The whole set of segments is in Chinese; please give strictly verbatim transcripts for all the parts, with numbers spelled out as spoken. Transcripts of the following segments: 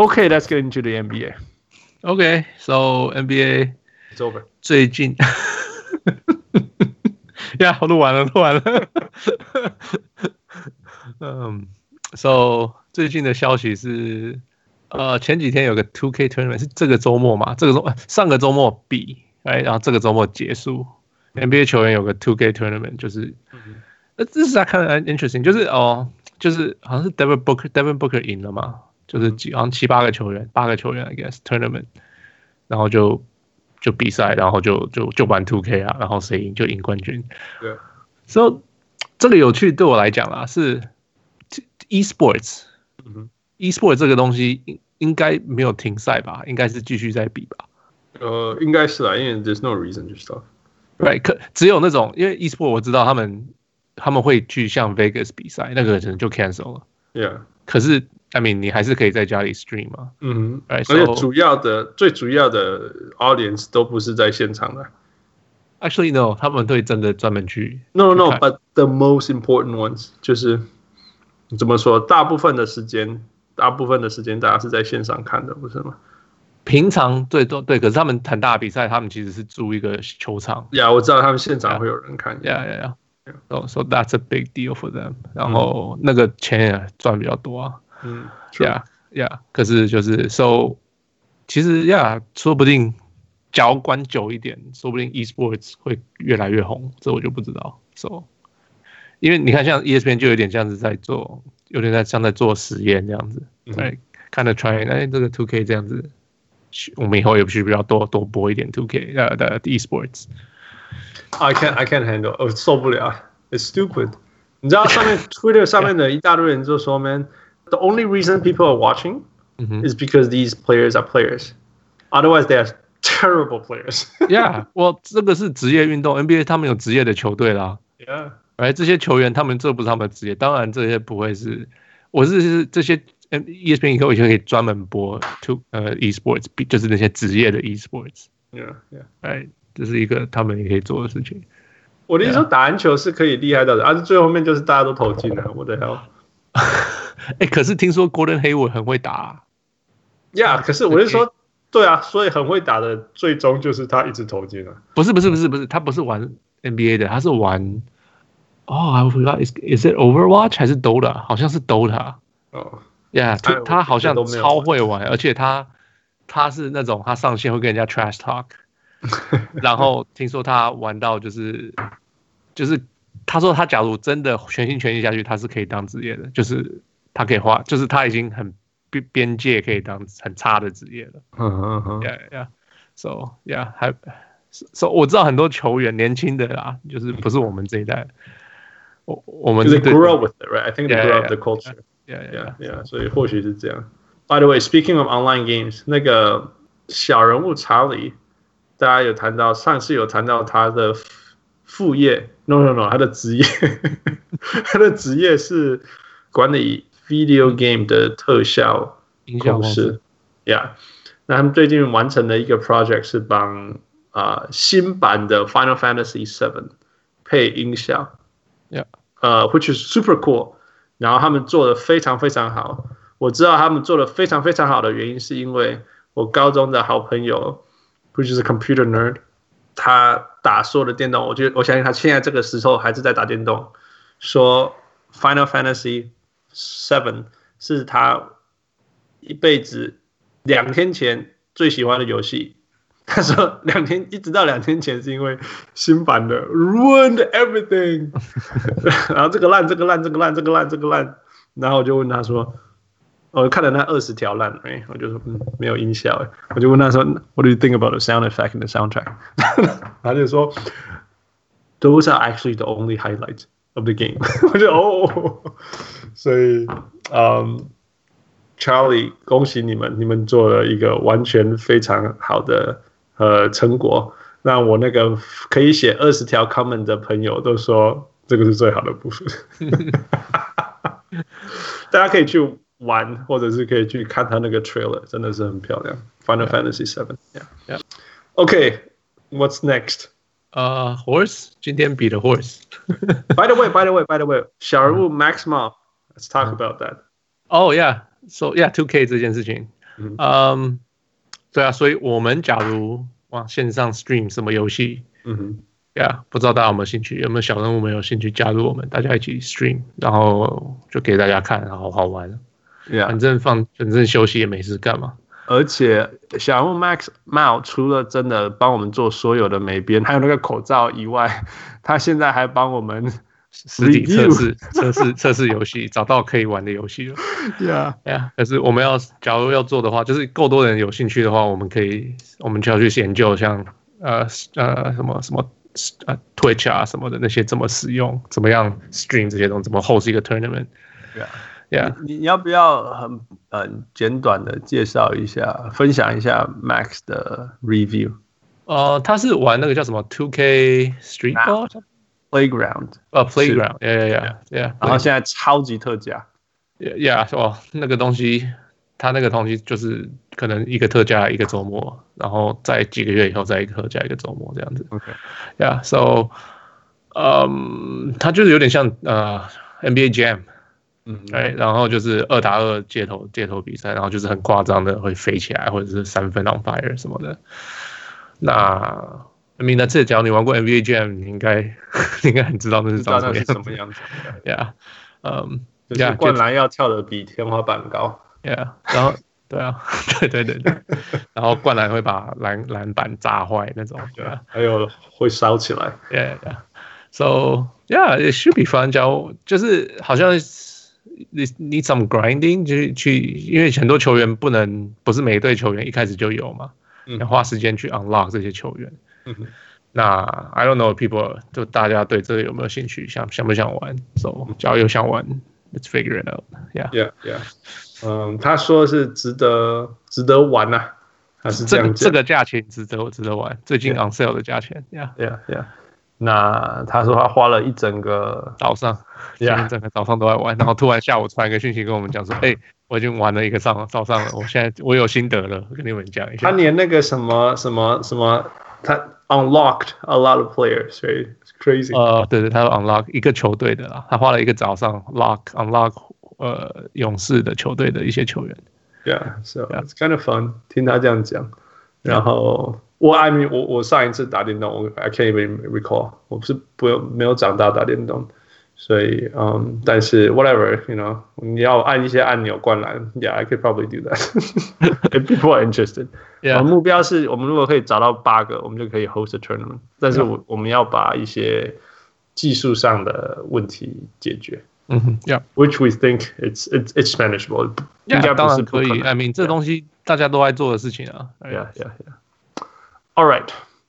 Okay, let's get into the N B A. Okay, so N B A it's over. 最近，呀，我錄完了，錄完了。嗯 ，So 最近的消息是，呃，前幾天有個 two K tournament 是這個週末嘛？這個週上個週末比，哎，然後這個週末結束。N B A 球員有個 two K tournament，就是，呃，這是他看的 interesting，就是哦，就是好像是 Devin Booker，Devin Booker 贏了嘛？就是幾好像七八個球員，八個球員 I guess tournament， 然後就就比賽，然後就就就玩 two K 啊，然後誰贏就贏冠軍。 對， 所以這個有趣對我來講啦，是 e-sports， 嗯 e-sports 這個東西應應該沒有停賽吧？應該是繼續在比吧？ 呃，應該是啦，因為 there's no reason to stop。Right， 可只有那種因為 e-sports 我知道他們他們會去像 Vegas 比賽，那個可能就 cancel 了。 Yeah， 可是。I mean， 你還是可以在家裡 stream 嘛？ 嗯， right, 而且主要的、so, 最主要的 audience 都不是在現場的。 Actually, no， 他們會真的專門去。 No, no, but the most important ones 就是怎麼說？大部分的時間，大部分的時間大家是在線上看的，不是嗎？ 平常對對對，可是他們很大的比賽，他們其實是租一個球場。 呀， yeah, 我知道他們現場會有人看。 呀呀呀 ，so so that's a big deal for them。然後那個錢也賺比較多啊。 嗯 ，Yeah, Yeah， 可是就是，So， 其實 Yeah， 說不定，假如關久一點，說不定 e-sports 會越來越紅，這我就不知道。So， 因為你看，像 E S P N 就有點這樣子在做，有點在像在做實驗這樣子，哎，看着 try， 哎，這個 two K 這樣子，我們以後也需要多多播一點 two K 呃的 e-sports。I can't, I can't handle， 我受不了 ，It's stupid。你知道上面 Twitter 上面的一大堆人就說 ，Man。The only reason people are watching mm-hmm. is because these players are players. Otherwise, they are terrible players. Yeah, well, 這個是職業運動 ，N B A 他們有職業的球隊啦。 Yeah， 而這些球員他們這不是他們的職業，當然這些不會是，我是是這些 E S P N 以後以後可以專門播 to 呃 e-sports， 就是那些職業的 e-sports。 Yeah, yeah， 哎，這是一個他們也可以做的事情。 我的意思說，打籃球是可以厲害到的，而、yeah. 啊、最後面就是大家都投進了，我的 hell。 哎，可是聽說 Gordon Hayward 很會打啊。 呀、yeah, 可是我是說，對啊，所以很會打的，最終就是他一直投進了。 不是不是不是不是，他不是玩 N B A 的，他是玩哦 ，I forgot is is it Overwatch 還是 Dota？ 好像是 Dota。哦，呀，他他好像超會玩，而且他他是那種他上線會跟人家 trash talk， 然後聽說他玩到就是就是。他說：“他假如真的全心全意下去，他是可以當職業的，就是他可以花，就是他已經很邊邊界可以當很差的職業了。”嗯嗯嗯 ，Yeah Yeah，So Yeah， 還 So 我知道很多球員年輕的啦，就是不是我們這一代，我我們 They grew up with it, right? I think they grew up the culture. Yeah Yeah Yeah， 所以或許是這樣。By the way, speaking of online games， 那個小人物查理，大家有談到，上次有談到他的。副業 no no no 他的職業他的職業是管理 video game 的特效公司 yeah， 那他們最近完成了一個 project 是幫、呃、新版的 Final Fantasy seven 配音效 yeah， 呃 which is super cool， 然後他們做得非常非常好，我知道他們做得非常非常好的原因是因為我高中的好朋友 which is a computer nerd，他打所有的電動，我覺得我相信他現在這個時候還是在打電動。說 Final Fantasy seven 是他一輩子兩天前最喜歡的遊戲。他說兩天一直到兩天前是因為新版的 ruined everything， 然後這個爛這個爛這個爛這個爛這個爛，然後我就問他說。我看了那二十條爛，哎，我就說嗯，沒有音效，哎，我就問他說 ，What do you think about the sound effect in the soundtrack？ 他就說 ，Those are actually the only highlights of the game 。我就哦，所以，嗯 ，Charlie， 恭喜你們，你們做了一個完全非常好的呃成果，讓我那個可以寫二十條 comment 的朋友都說這個是最好的部分。大家可以去。玩，或者是可以去看他那個 trailer， 真的是很漂亮。Final Fantasy seven， yeah, yeah. Okay, what's next? 呃、uh, Horse， 今天比的 Horse。by the way, by the way, by the way， 小人物 Max Mob，let's talk about that. Oh yeah, so yeah, two K 這件事情。 嗯，嗯，對啊，所以我們假如往線上 stream 什麼遊戲，嗯哼，對啊，不知道大家有沒有興趣？有沒有小人物們有興趣加入我們，大家一起 stream，然後就給大家看，好好玩。Yeah. 反正放，反正休息也沒事幹嘛。 而且小人物 Max Mao 除了真的幫我們做所有的美編，還有那個口罩以外，他現在還幫我們實體測試、測試、測試遊戲，找到可以玩的遊戲了。 Yeah, yeah. 可是我們要，假如要做的話，就是夠多人有興趣的話，我們可以，我們就要去研究像呃呃什麼什麼呃 Twitch 啊什麼的那些怎麼使用，怎麼樣 stream 這些東西，怎麼 host 一個 tournament。Yeah. Yeah. 你, 你要不要很很簡短的介紹一下，分享一下 Max 的 review？ 呃，他是玩那個叫什麼 two K Street Ball Playground， 呃 Playground， yeah yeah yeah， 然後現在超級特價 ，yeah， 哦，那個東西，他那個東西就是可能一個特價一個週末，然後在幾個月以後再一個特價一個週末這樣子。OK，yeah，so， 嗯，他就是有點像呃 N B A Jam。嗯，對，然後就是二打二街頭街頭比賽，然後就是很誇張的會飛起來，或者是三分 on fire 什麼的。那 I mean， 那這假如你玩過 N B A Jam， 你應該你應該很知道那是長什麼樣子。 什麼樣子 ？Yeah， 嗯， 就是灌籃要跳得比天花板高。 Yeah， 然後對啊，對對對對，然後灌籃會把籃籃板砸壞那種，對吧？ 還有會燒起來。 Yeah yeah，so yeah，it should be fun。假如就是好像。你 need some grinding 去去，因為很多球員不能不是每一隊球員一開始就有嘛，嗯、要花時間去 unlock 這些球員。嗯、那 I don't know people 就大家對這個有沒有興趣，想想不想玩 ？So 只要有想玩 ，let's figure it out. Yeah yeah yeah. 嗯，他說是值得值得玩吶、啊，還是這樣講？這個這個價錢值得值得玩，最近 on sale 的價錢。Yeah yeah yeah. 那他說他花了一整個早上，一整個早上都在玩，然後突然下午傳一個訊息跟我們講說，哎、欸，我已經玩了一個上早上了，我現在我有心得了，跟你們講一下。 他連那個什麼什麼什麼，他 unlocked a lot of players， 所以 crazy。 呃，對對，他 unlock 一個球隊的啦，他花了一個早上 lock unlock 呃勇士的球隊的一些球員。 Yeah, so it's kind of fun。聽他這樣講，然後。我 I mean 我我上一次打電動，我 I can't even recall， 我不是不沒有長大打電動，所以嗯， um, 但是 whatever you know， 你要按一些按鈕灌籃 ，Yeah I could probably do that if people are interested。Yeah， 我們目標是我們如果可以找到八個，我們就可以 host a tournament， 但是我我們要把一些技術上的問題解決。 嗯哼 ，Yeah，which we think it's it's it's manageable。 應該當然可以 ，I mean 這東西大家都在做的事情啊。 Yeah yeah yeah。All right,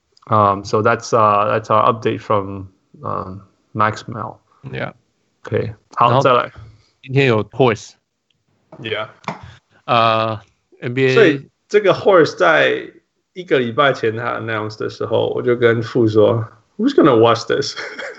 um, so that's uh, that's our update from um, Max Mel. Yeah. Okay. 好，再來。 今天有 Horse. Yeah. 呃、uh, ，N B A。 所以這個 Horse 在一個禮拜前他 announce 的時候，我就跟傅說 ，Who's gonna watch this？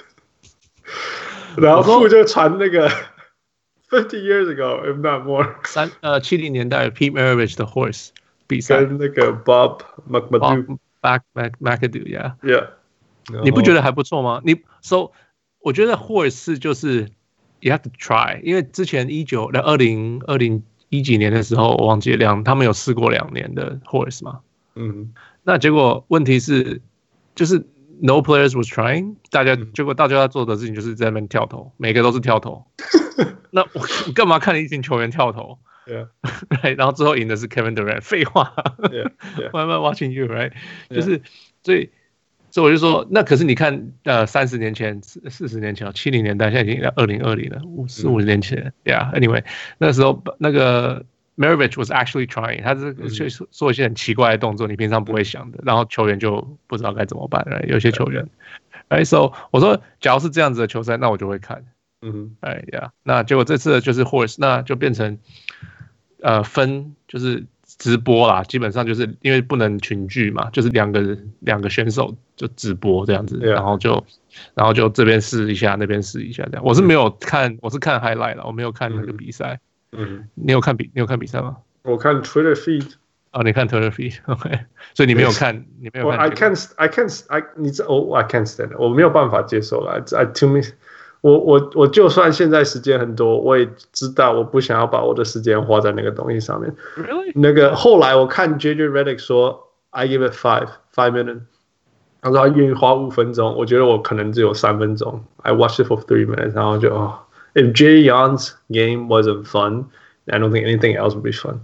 然後傅就傳那個 fifty years ago, if not more。 三呃七零年代 Pete Maravich 的 Horse 比賽， 跟那個 Bob McAdoo。 Back Mac McAdoo, yeah, yeah. 你不覺得還不錯嗎？你 so 我覺得 Horse 就是 you have to try， 因為之前一九二零二零一幾年的時候，我忘記了兩他們有試過兩年的 Horse 嘛，嗯，那結果問題是就是 no players was trying， 大家、嗯、結果大家要做的事情就是在那邊跳投，每個都是跳投，那我幹嘛看一群球員跳投？Yeah. Right, 然後之後贏的是 Kevin Durant， 廢話 yeah, yeah. Why am I watching you, right? Yeah. 就是所以所以我就說，那可是你看，呃，三十年前、四十年前、七零年代，現在已經二零二零了，五四五十年前、嗯、，Yeah. Anyway， 那時候那個 Maravich was actually trying， 他是去做一些很奇怪的動作，你平常不會想的，然後球員就不知道該怎麼辦， right? 有些球員 ，Right? So 我說，假如是這樣子的球賽，那我就會看，嗯，哎呀，那結果這次就是 Horse， 那就變成。呃，分就是直播啦，基本上就是因為不能群聚嘛，就是兩個兩個選手就直播這樣子， yeah. 然後就然後就這邊試一下，那邊試一下這樣。我是沒有看，嗯、我是看 highlight 啦，我沒有看那個比賽。嗯，你有看比你有看比賽嗎？ 我看 Twitter feed。 哦，你看 Twitter feed，OK， 所以你沒有看，你沒有看。 I can't, I can't, I 你這哦，I can't stand， 我沒有辦法接受啦。I to me， 我我我就算現在時間很多，我也知道我不想要把我的時間花在那個東西上面。 Really? 那個後來我看 J J Redick 說 ，I give it five five minutes。他說他願意花五分鐘，我覺得我可能只有三分鐘。I watched it for three minutes， 然後就哦 ，If Jay Young's game wasn't fun, I don't think anything else would be fun.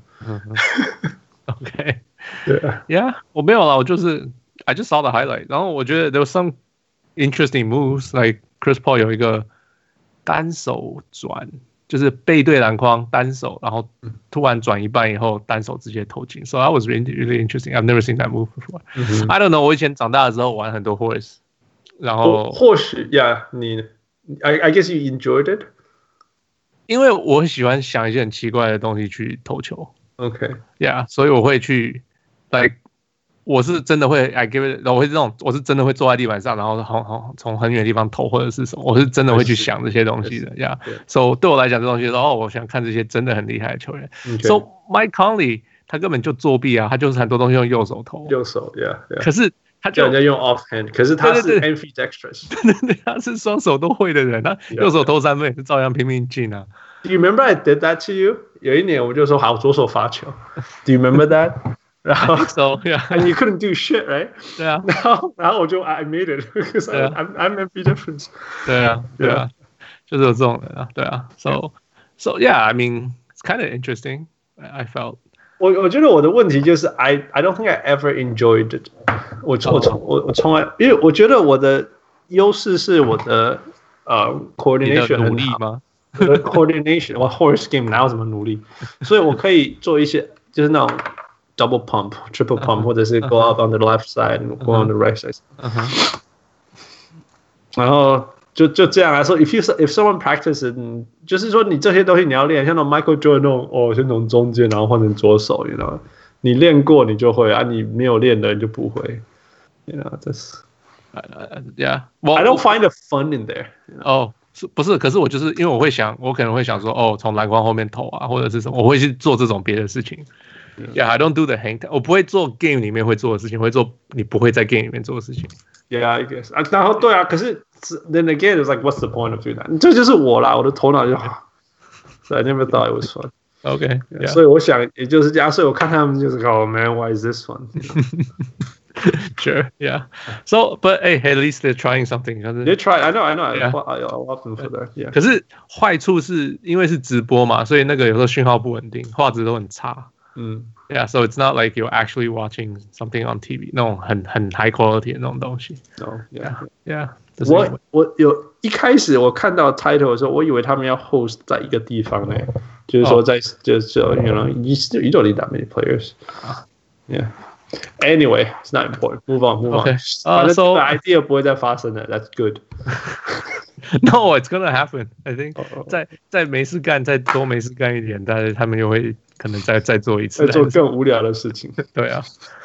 OK， 对啊 ，Yeah， 我沒有啦，我就是 I just saw the highlight， 然後我覺得 there was some interesting moves， like Chris Paul 有一個單手轉。就是背對籃筐單手，然後突然轉一半以後單手直接投進 ，So that was really really interesting. I've never seen that move before.、嗯、I don't know. 我以前長大的時候玩很多 horse， 然後或許 ，Yeah， 你 I I guess you enjoyed it， 因為我很喜歡想一些很奇怪的東西去投球。OK，Yeah，、okay. 所以我會去 like。我是真的會 I give it， 我會這種，我是真的會坐在地板上，然後好好從很遠的地方投或者是什麼，我是真的會去想這些東西的呀。所以 yeah. So, 對我來講，這東西說哦，我想看這些真的很厲害的球員。Okay. So Mike Conley 他根本就作弊啊，他就是很多東西用右手投。 右手 ，Yeah，, yeah. 可是他就人家用 offhand， 可是他是 ambidextrous， 對對對，他是雙手都會的人，他右手投三分也是照樣拼命進啊。 Do you remember I did that to you？ 有一年我就說好，左手發球。Do you remember that？然後 so, yeah. and you couldn't do shit, right? 對啊， 然後然後我就 I made it because I'm I'm I'm ambidextrous. 對啊，對啊，就是有這種人啊，對啊。So so yeah, I mean it's kind of interesting. I felt. 我我覺得我的問題就是 I I don't think I ever enjoyed it. 我我從我我從來，因為我覺得我的優勢是我的呃 coordination 努力嗎？ 我的 coordination， 我 horse game 哪有什麼努力？所以我可以做一些就是那種。Double pump, triple pump，、uh-huh. 或者是 go up on the left side and go on the right side。Uh-huh. 然後就就這樣來說 ，if you if someone practices， 就是說你這些東西你要練，像那種 Michael Jordan 那種哦，先從中間然後換成左手 ，you know， 你練過你就會啊，你沒有練的你就不會 ，you know， 這是 ，Yeah，well, I don't find the fun in there。 哦，是不是？可是我就是因為我會想，我可能會想說，哦，從籃筐後面投啊，或者是什麼，我會去做這種別的事情。Yeah, I don't do the hang time. 我不會做 game 裡面會做的事情，我會做你不會在 game 裡面做的事情。 Yeah, I guess. 啊，然後對啊，可是 then again, it's like, what's the point of doing that? 這就是我啦，我的頭腦就好。So I never thought it was fun. Okay. Yeah. 所以我想也就是這樣，所以我看他們就是，Oh man, why is this fun? Sure, yeah. So, but hey, at least they're trying something. They try. I know, I know. Yeah. I love them for that. Yeah. 可是壞處是因為是直播嘛，所以那個有時候訊號不穩定，畫質都很差。嗯 ，Yeah, so it's not like you're actually watching something on T V 那種很很 high quality 的那種東西。 No, yeah, yeah. 我我有一開始我看到 title 的時候，我以為他們要 host 在一個地方呢，就是說在就是 you know you you don't need that many players. Yeah. Anyway, it's not important. Move on, move on. Okay. 反正這個 idea 不會再發生了。That's good. No, it's gonna happen. I think 在在沒事幹，再多沒事幹一點，但是他們又會可能再再做一次， 再做更無聊的事情。 對啊。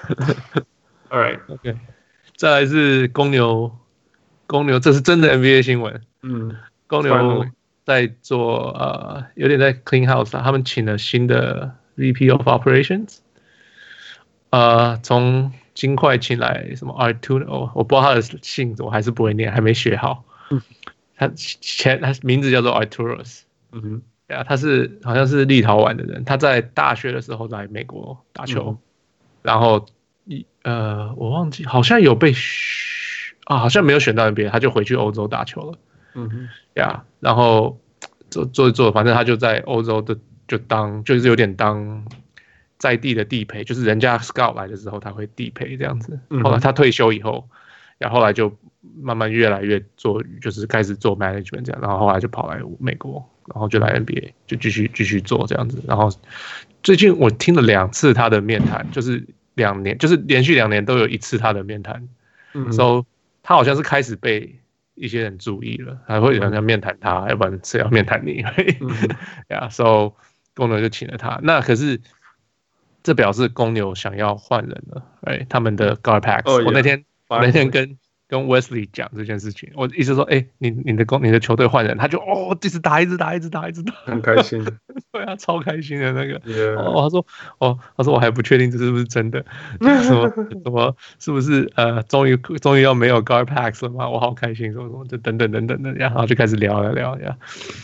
All right, OK。再來是公牛，公牛這是真的 N B A 新聞。嗯，公牛在做呃，有點在 clean house 啊，他們請了新的 V P of Operations。呃，從金塊請來什麼 Arturo， 我不知道他的姓，我還是不會念，還沒學好。嗯、他前他名字叫做 Arturos， 嗯哼，對啊，他是好像是立陶宛的人，他在大學的時候在美國打球，嗯、然後一呃我忘記好像有被啊，好像沒有選到 N B A， 他就回去歐洲打球了。嗯哼，對啊，然後做做做，反正他就在歐洲的就當就是有點當。在地的地陪，就是人家 scout 來的時候，他會地陪這樣子。後來他退休以後，然後後來就慢慢越來越做，就是開始做 management 這樣。然後後來就跑來美國，然後就來 N B A， 就繼續繼續做這樣子。然後最近我聽了兩次他的面談，就是兩年，就是連續兩年都有一次他的面談。嗯，so 他好像是開始被一些人注意了，還會有人要面談他，要不然誰要面談你？呀，so 公牛就請了他。那可是。這表示公牛想要換人了，哎，他們的 guard packs。Oh, yeah. 我那天我那天跟跟 Wesley 講這件事情，我意思說，哎、欸，你你的公你的球隊換人，他就哦，一直打，一直打，一直打，一直打， 很開心， 對啊，超開心的那個。 Yeah. 哦，他說，哦，他說我還不確定這是不是真的，什麼什麼是不是呃，終於終於要沒有 Garpax 了嗎？我好開心，什麼什麼，就等等等等的，然後就開始聊聊聊呀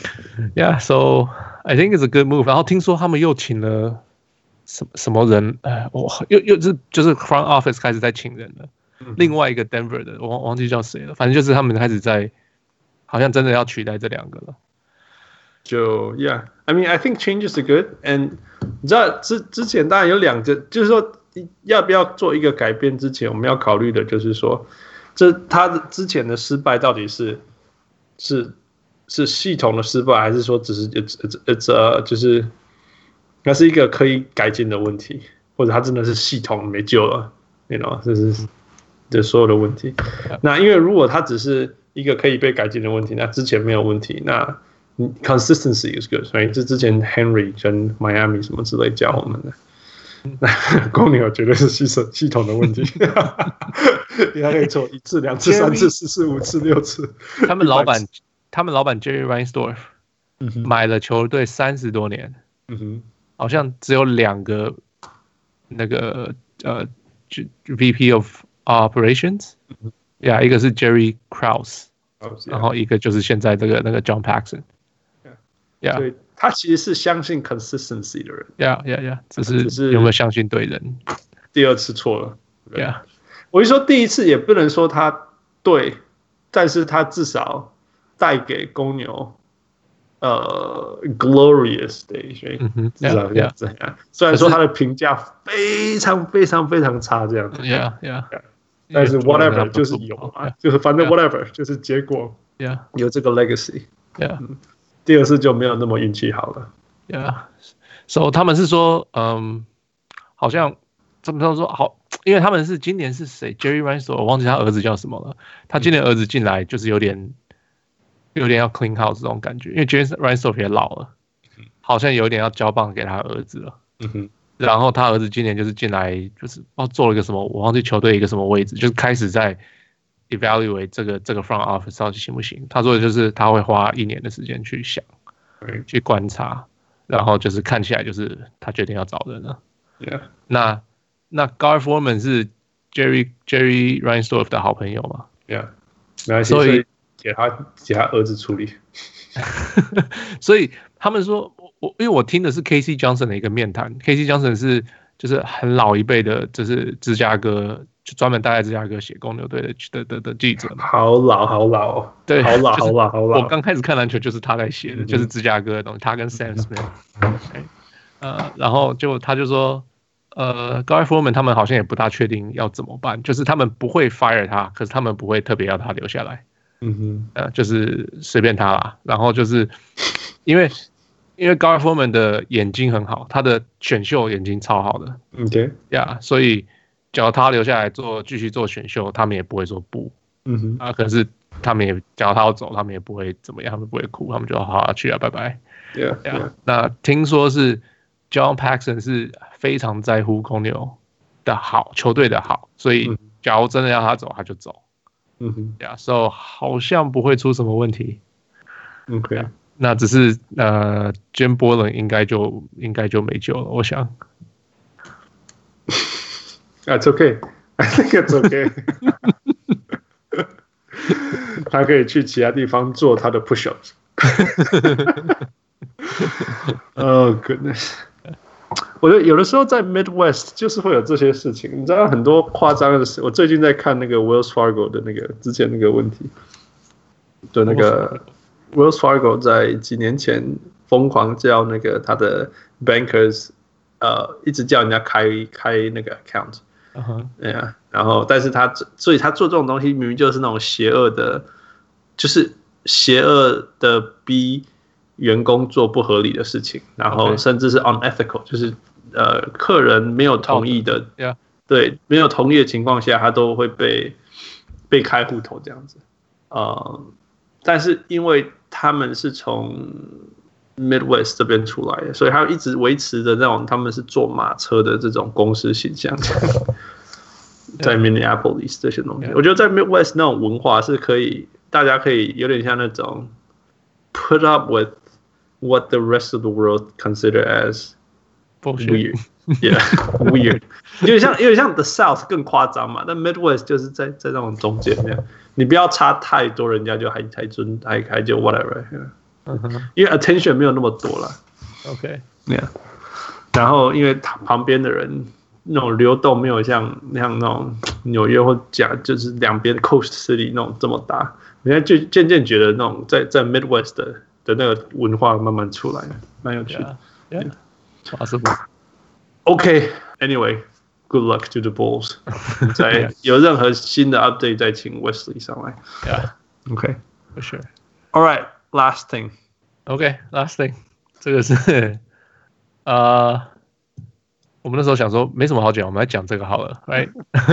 ，Yeah，so I think it's a good move。然後聽說他們又請了什麼什麼人，哎，我又又是就是 front office 開始在請人了。另外一個 Denver 的，我忘忘記叫誰了，反正就是他們開始在，好像真的要取代這兩個了。 就 Yeah，I mean I think changes are good，and 你知道之之前當然有兩個，就是說要不要做一個改變之前，我們要考慮的就是說，這他之前的失敗到底是是是系統的失敗，還是說只是 it's it's it's a 就是那是一個可以改進的問題，或者他真的是系統沒救了 ，you know， 這是。的所有的問題，那因為如果它只是一個可以被改進的問題，那之前沒有問題，那 consistency is good， 所以這之前 Henry 跟 Miami 什麼之類教我們的，那公牛絕對是系統系統的問題，你還可以錯一次、兩次、三次、四次、五次、六次。 他們老板，他們老板 Jerry Reinsdorf 買了球隊三十多年，嗯哼，好像只有兩個那個呃 V P of Operations， 呀、yeah, ，一個是 Jerry Krause， 然後一個就是現在這個那個 John Paxson， yeah， 所以他其實是相信 consistency 的人， 呀呀呀，只是有沒有相信對人？ 第二次錯了， 呀， yeah. 我一說第一次也不能說他對，但是他至少帶給公牛呃 glorious days，、嗯、至少這樣子。Yeah, yeah. 雖然說他的評價非常非常非常差，這樣子。 Yeah, yeah. 但是 whatever 就是有嘛，就是反正 whatever 就是結果。 Yeah. 有這個 legacy。 Yeah. 嗯、第二次就沒有那麼運氣好了。 Yeah. So 他們是說，嗯，好像怎麼說好？因為他們是今年是誰 ？Jerry Reinsdorf， 我忘記他兒子叫什麼了。他今年兒子進來就是有點。有點要 clean house 這種感覺，因為 Jerry Reinsdorf 也老了，好像有點要交棒給他兒子了。嗯哼，然後他兒子今年就是進來，就是哦做了一個什麼，我忘記球隊一個什麼位置，就是開始在 evaluate 這個這個 front office 到底行不行。他說的就是他會花一年的時間去想，嗯、去觀察，然後就是看起來就是他決定要找人了。Yeah. 那那 Gar Forman 是 Jerry Jerry Reinsdorf 的好朋友嘛 ？Yeah， 沒關係，所以。給他給他兒子處理， 所以他們說，我因為我聽的是 K C Johnson 的一個面談 ，K C Johnson 是就是很老一輩的，就是芝加哥就專門待在芝加哥寫公牛隊的的的的記者嘛， 好老好老哦， 對， 好老好老好老。 我剛開始看籃球就是他在寫的，就是芝加哥的東西，他跟 Sam Smith， 呃，然後就他就說，呃 ，Gar Forman 他們好像也不大確定要怎麼辦，就是他們不會 fire 他，可是他們不會特別要他留下來。嗯哼，呃，就是隨便他啦。然後就是因為因為 Gar Forman 的眼睛很好，他的選秀眼睛超好的。OK， 呀、yeah, 所以只要他留下來做繼續做選秀，他們也不會說不。嗯哼，啊，可是他們也只要他要走，他們也不會怎麼樣，他們不會哭，他們就好好去啊，拜拜。Yeah, yeah. yeah. 那聽說是 John Paxson 是非常在乎公牛的好，球隊的好，所以假如真的要他走，他就走。嗯哼，呀，所以好像不會出什麼問題。OK， yeah, 那只是呃 ，Jim Boylen 應該就應該就沒救了，我想。 That's okay, I think it's okay 。他可以去其他地方做他的 push-ups。Oh goodness！ 我覺得有的時候在 Midwest 就是會有這些事情，你知道很多誇張的事。我最近在看那個 Wells Fargo 的那個之前那個問題，就那個 Wells Fargo 在幾年前瘋狂叫那個他的 bankers 呃一直叫人家開開那個 account， 嗯哼，對啊，然後但是他所以他做這種東西明明就是那種邪惡的，就是邪惡的逼員工做不合理的事情，然後甚至是 unethical， 就是呃客人沒有同意的， yeah. 對，沒有同意的情況下，他都會被被開戶頭這樣子。呃，但是因為他們是從 Midwest 這邊出來的，所以他一直維持着那種他們是坐馬車的這種公司形象。 在 Minneapolis 這些東西，我覺得在 Midwest 那種文化是可以，大家可以有點像那種 put up with what the rest of the world consider as weird, yeah, weird， 有點像有點像 The South 更誇張嘛，但 Midwest 就是在在那種中間那樣，你不要差太多，人家就還還尊還還就 whatever， 因為 attention 沒有那麼多了 ，OK，yeah， 然後因為旁邊的人。那種流動沒有像像那種紐約或加就是兩邊 coast city 那種這麼大，人家就漸漸覺得那種在在 Midwest 的的那個文化慢慢出來了，蠻有趣的。 Yeah, yeah. Possible. Okay, anyway, good luck to the Bulls. 在有任何新的 update 再請 Wesley 上來。 Yeah. Okay, for sure. All right, last thing. Okay, last thing. 這個是呃。Uh, 我們那時候想說沒什麼好講，我們來講這個好了 ，right？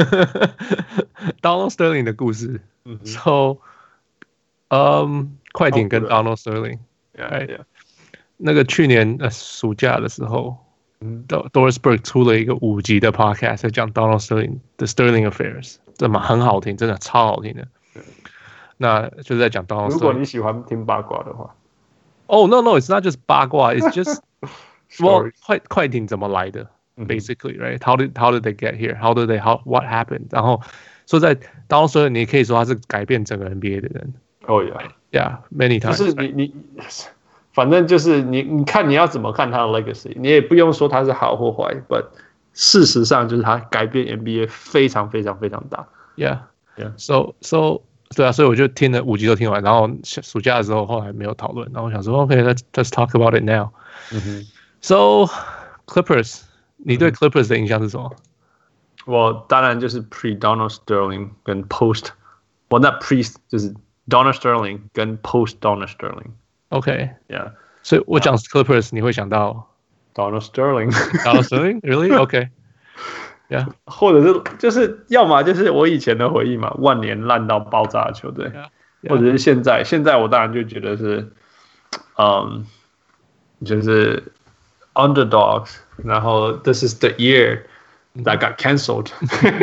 Donald Sterling 的故事、mm hmm. ，so，嗯、um, 快艇跟 Donald Sterling，right？、Yeah, yeah. 那個去年呃暑假的時候、mm hmm. ，Doris Burke 出了一個五集的 podcast， 在講 Donald Sterling 的 Sterling Affairs， 這蠻很好聽，真的超好聽的。Yeah. 那就是在講 Donald Sterling。如果你喜歡聽八卦的話， 哦、oh, ，no no，it's not just 八卦 ，it's just， well 快快艇怎麼來的？ Basically, right? How did how did they get here? How did they how what happened? 然後說在 Donald Sterling， 你可以說他是改變整個 N B A 的人。 Oh yeah, yeah, many times. 就是你你，反正就是你你看你要怎麼看他的 legacy， 你也不用說他是好或壞 ，but 事實上就是他改變 N B A 非常非常非常大。 Yeah, yeah. So so 對啊，所以我就聽了五集都聽完，然後暑假的時候後來沒有討論，然後我想說 OK，let's let's talk about it now. So Clippers。你對 Clippers 的印象是什麼？ 我當然就是 pre Donald Sterling 跟 post， 我那 pre 就是 Donald Sterling 跟 post Donald Sterling。OK，yeah， 所以我講 Clippers， 你會想到 Donald Sterling。Donald Sterling，really？ OK，yeah， 或者是就是要麼就是我以前的回憶嘛，萬年爛到爆炸的球隊， yeah, yeah. 或者是現在，現在我當然就覺得是，嗯，就是 underdogs。然後 this is the year that got cancelled.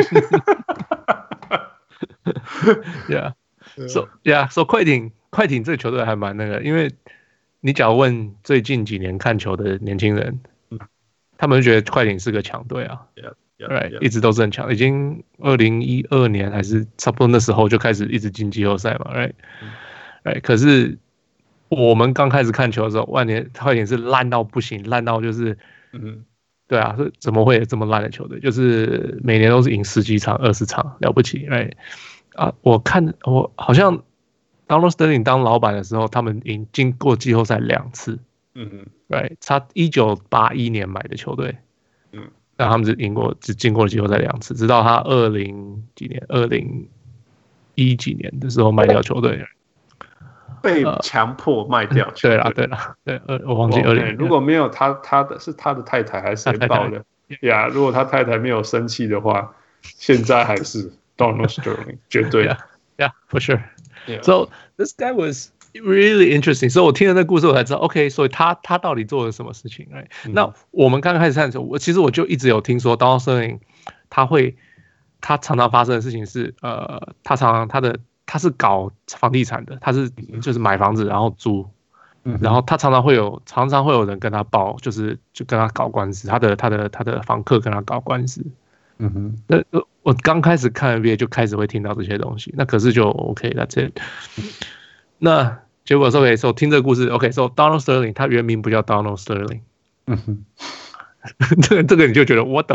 yeah, so yeah, so 快艇快艇這個球隊還蠻那個，因為你假如問最近幾年看球的年輕人，嗯、他們就覺得快艇是個強隊啊 ，yeah, yeah, right, yeah. 一直都是很強，已經二零一二年還是差不多那時候就開始一直進季後賽嘛 ，right, right. 可是我們剛開始看球的時候，萬年快艇是爛到不行，爛到就是。嗯，對啊，怎麼會有這麼爛的球隊？就是每年都是贏十幾場、二十場，了不起，right？啊，我看我好像 Donald Sterling 當老闆的時候，他們贏經過季後賽兩次，嗯哼，right？他一九八一年買的球隊，嗯，但他們只贏過只進過了季後賽兩次，直到他二零幾年、二零一幾年的時候賣掉球隊。 被強迫賣掉、呃。 對啦，對啦，對，我忘記二零、哦。 如果沒有他，他的是他的太太還是誰報的？呀， yeah, 如果他太太沒有生氣的話，現在還是 Donald Sterling 絕對。 Yeah, yeah, for sure. Yeah. So this guy was really interesting. 所以我聽了那個故事，我才知道 ，OK， 所以他他到底做了什麼事情？哎、嗯，那我們剛開始看的時候，我其實我就一直有聽說 Donald Sterling 他會，他常常發生的事情是，呃，他常常他的。他是搞房地產的，他是就是買房子然後租，嗯、然後他常常會有常常會有人跟他報，就是就跟他搞官司，他的他的他的房客跟他搞官司。嗯哼，那我剛開始看 N B A 就開始會聽到這些東西，那可是就 OK，that's it。那結果說 OK， 所以聽這個故事 OK， 所以 Donald Sterling 他原名不叫 Donald Sterling。嗯哼，這個這個你就覺得 What the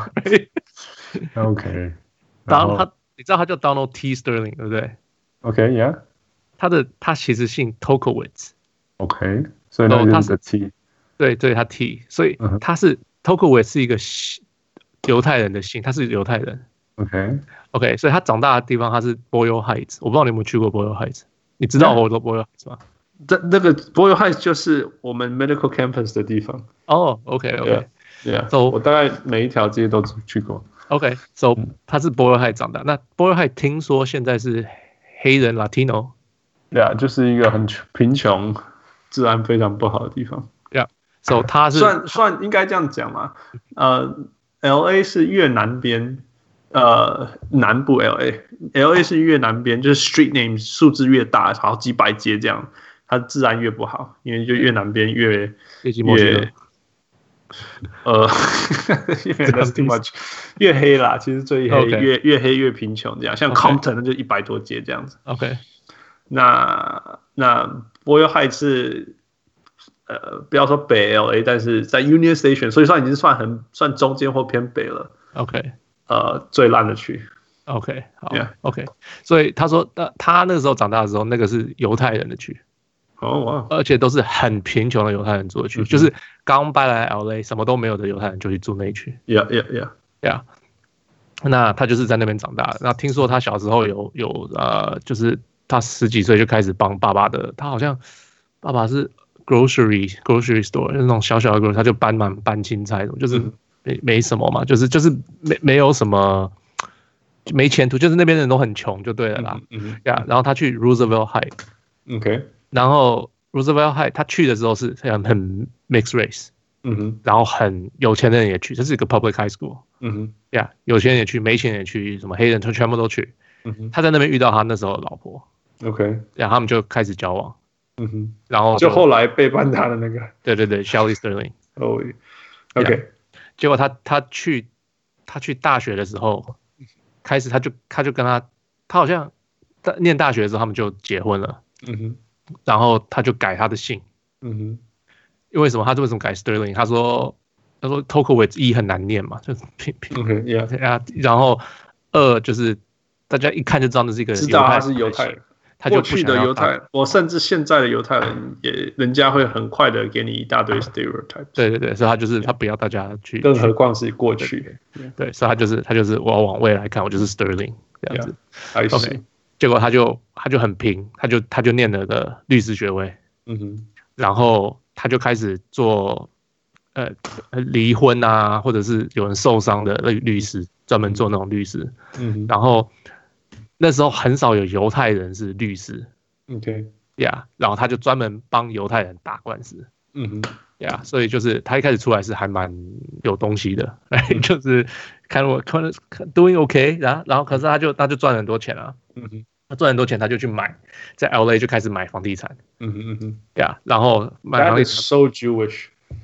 fuck？OK， 當他。你知道他叫 Donald T. Sterling 對不對 ？OK，Yeah，、okay, 他的他其實姓 Tokowitz。OK， 所以他是 T。 對對，他 T， 所以他是、uh huh. Tokowitz 是一個猶太人的姓，他是猶太人。OK，OK，、okay. okay, 所以他長大的地方他是 Boyle Heights， 我不知道你有沒有去過 Boyle Heights， 你知道我說 Boyle Heights 嗎？ 這那個 Boyle Heights 就是我們 Medical Campus 的地方。 哦、oh, ，OK，OK，Yeah， so, 我大概每一條街都去過。 OK，so、okay, 他是 Boyle Heights 長大。那 Boyle Heights 聽說現在是黑人 Latino， 對啊，就是一個很貧窮、治安非常不好的地方。 對啊，so 他是算算應該這樣講嘛？呃 ，L A 是越南邊， 呃南部 L A，L A 是越南邊，就是 street name 數字越大，好幾百街這樣，它自然越不好，因為就越南邊越越呃，That's too much， 越黑啦，其實最黑 okay. 越越黑越貧窮這樣，像 Compton 那就一百多街這樣子。 OK， 那那 Boyle Heights 是呃不要說北 L A， 但是在 Union Station， 所以說已經算很算中間或偏北了。 OK， 呃最爛的區。 OK， 好 yeah. OK， 所以他說他他那個時候長大的時候，那個是猶太人的區。 哦哇！ 而且都是很貧窮的猶太人住的區，嗯、就是剛搬來 L A 什麼都沒有的猶太人就去住那一區。 Yeah, yeah, yeah, yeah. 那他就是在那邊長大的。那聽說他小時候有有呃，就是他十幾歲就開始幫爸爸的，他好像爸爸是 grocery grocery store， 就是那種小小的 grocery， 他就搬滿搬青菜，就是沒沒什麼嘛，就是就是沒沒有什麼沒前途，就是那邊人都很窮就對了啦。嗯嗯 yeah, 然後他去 Roosevelt High。OK。然後 Roosevelt High 他去的時候是很很 mixed race， 嗯哼，然後很有錢的人也去，這是一個 public high school， 嗯哼，呀、yeah, 有錢人也去，沒錢人也去，什麼黑人他全部都去，嗯哼，他在那邊遇到他那時候的老婆 ，OK， 然後他們就開始交往， 嗯哼， 然後就後來背叛他的那個， 對對對 ，Shelly Sterling， 哦 ，OK， yeah, 結果他他去他去大學的時候，開始他就他就跟他他好像念大學的時候他們就結婚了，嗯哼。然後他就改他的姓，嗯哼，因為什麼？他為什麼改 Sterling？ 他說，他說 Tokowitz 一很難念嘛，就拼拼 ，OK， yeah， 然後二就是大家一看就知道那是一個知道他是猶太人，他就不去的猶太人，我甚至現在的猶太人也，人家會很快的給你一大堆 stereotype。 對對對，所以他就是他不要大家去， 更何況是過去， 對，對，對，所以他就是他就是我要往未來看，我就是 Sterling 這樣子 ，yeah, OK。 結果他就他就很拼，他就他就念了個律師學位，嗯哼，然後他就開始做呃離婚啊，或者是有人受傷的律律師，專門做那種律師，嗯哼，然後那時候很少有猶太人是律師 ，OK， 呀、yeah, 然後他就專門幫猶太人打官司，嗯哼，呀、yeah, 所以就是他一開始出來是還蠻有東西的，嗯、就是看我看 doing OK， 然後然後可是他就他就賺很多錢啊。嗯哼，他賺很多錢，他就去買，在 L A 就開始買房地產。嗯哼嗯哼，對啊，然後買房地產。 That is so Jewish 。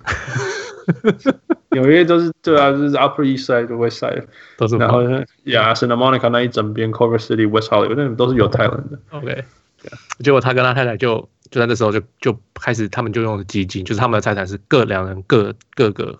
紐約都是對啊，就是 Upper East Side、West Side 都是。 然後呀 ，Santa Monica 那一整邊 ，Culver City、West Hollywood 那都是猶太人的。 OK， 結果他跟他太太就就在那時候就就開始，他們就用基金，就是他們的財產是各兩人各各個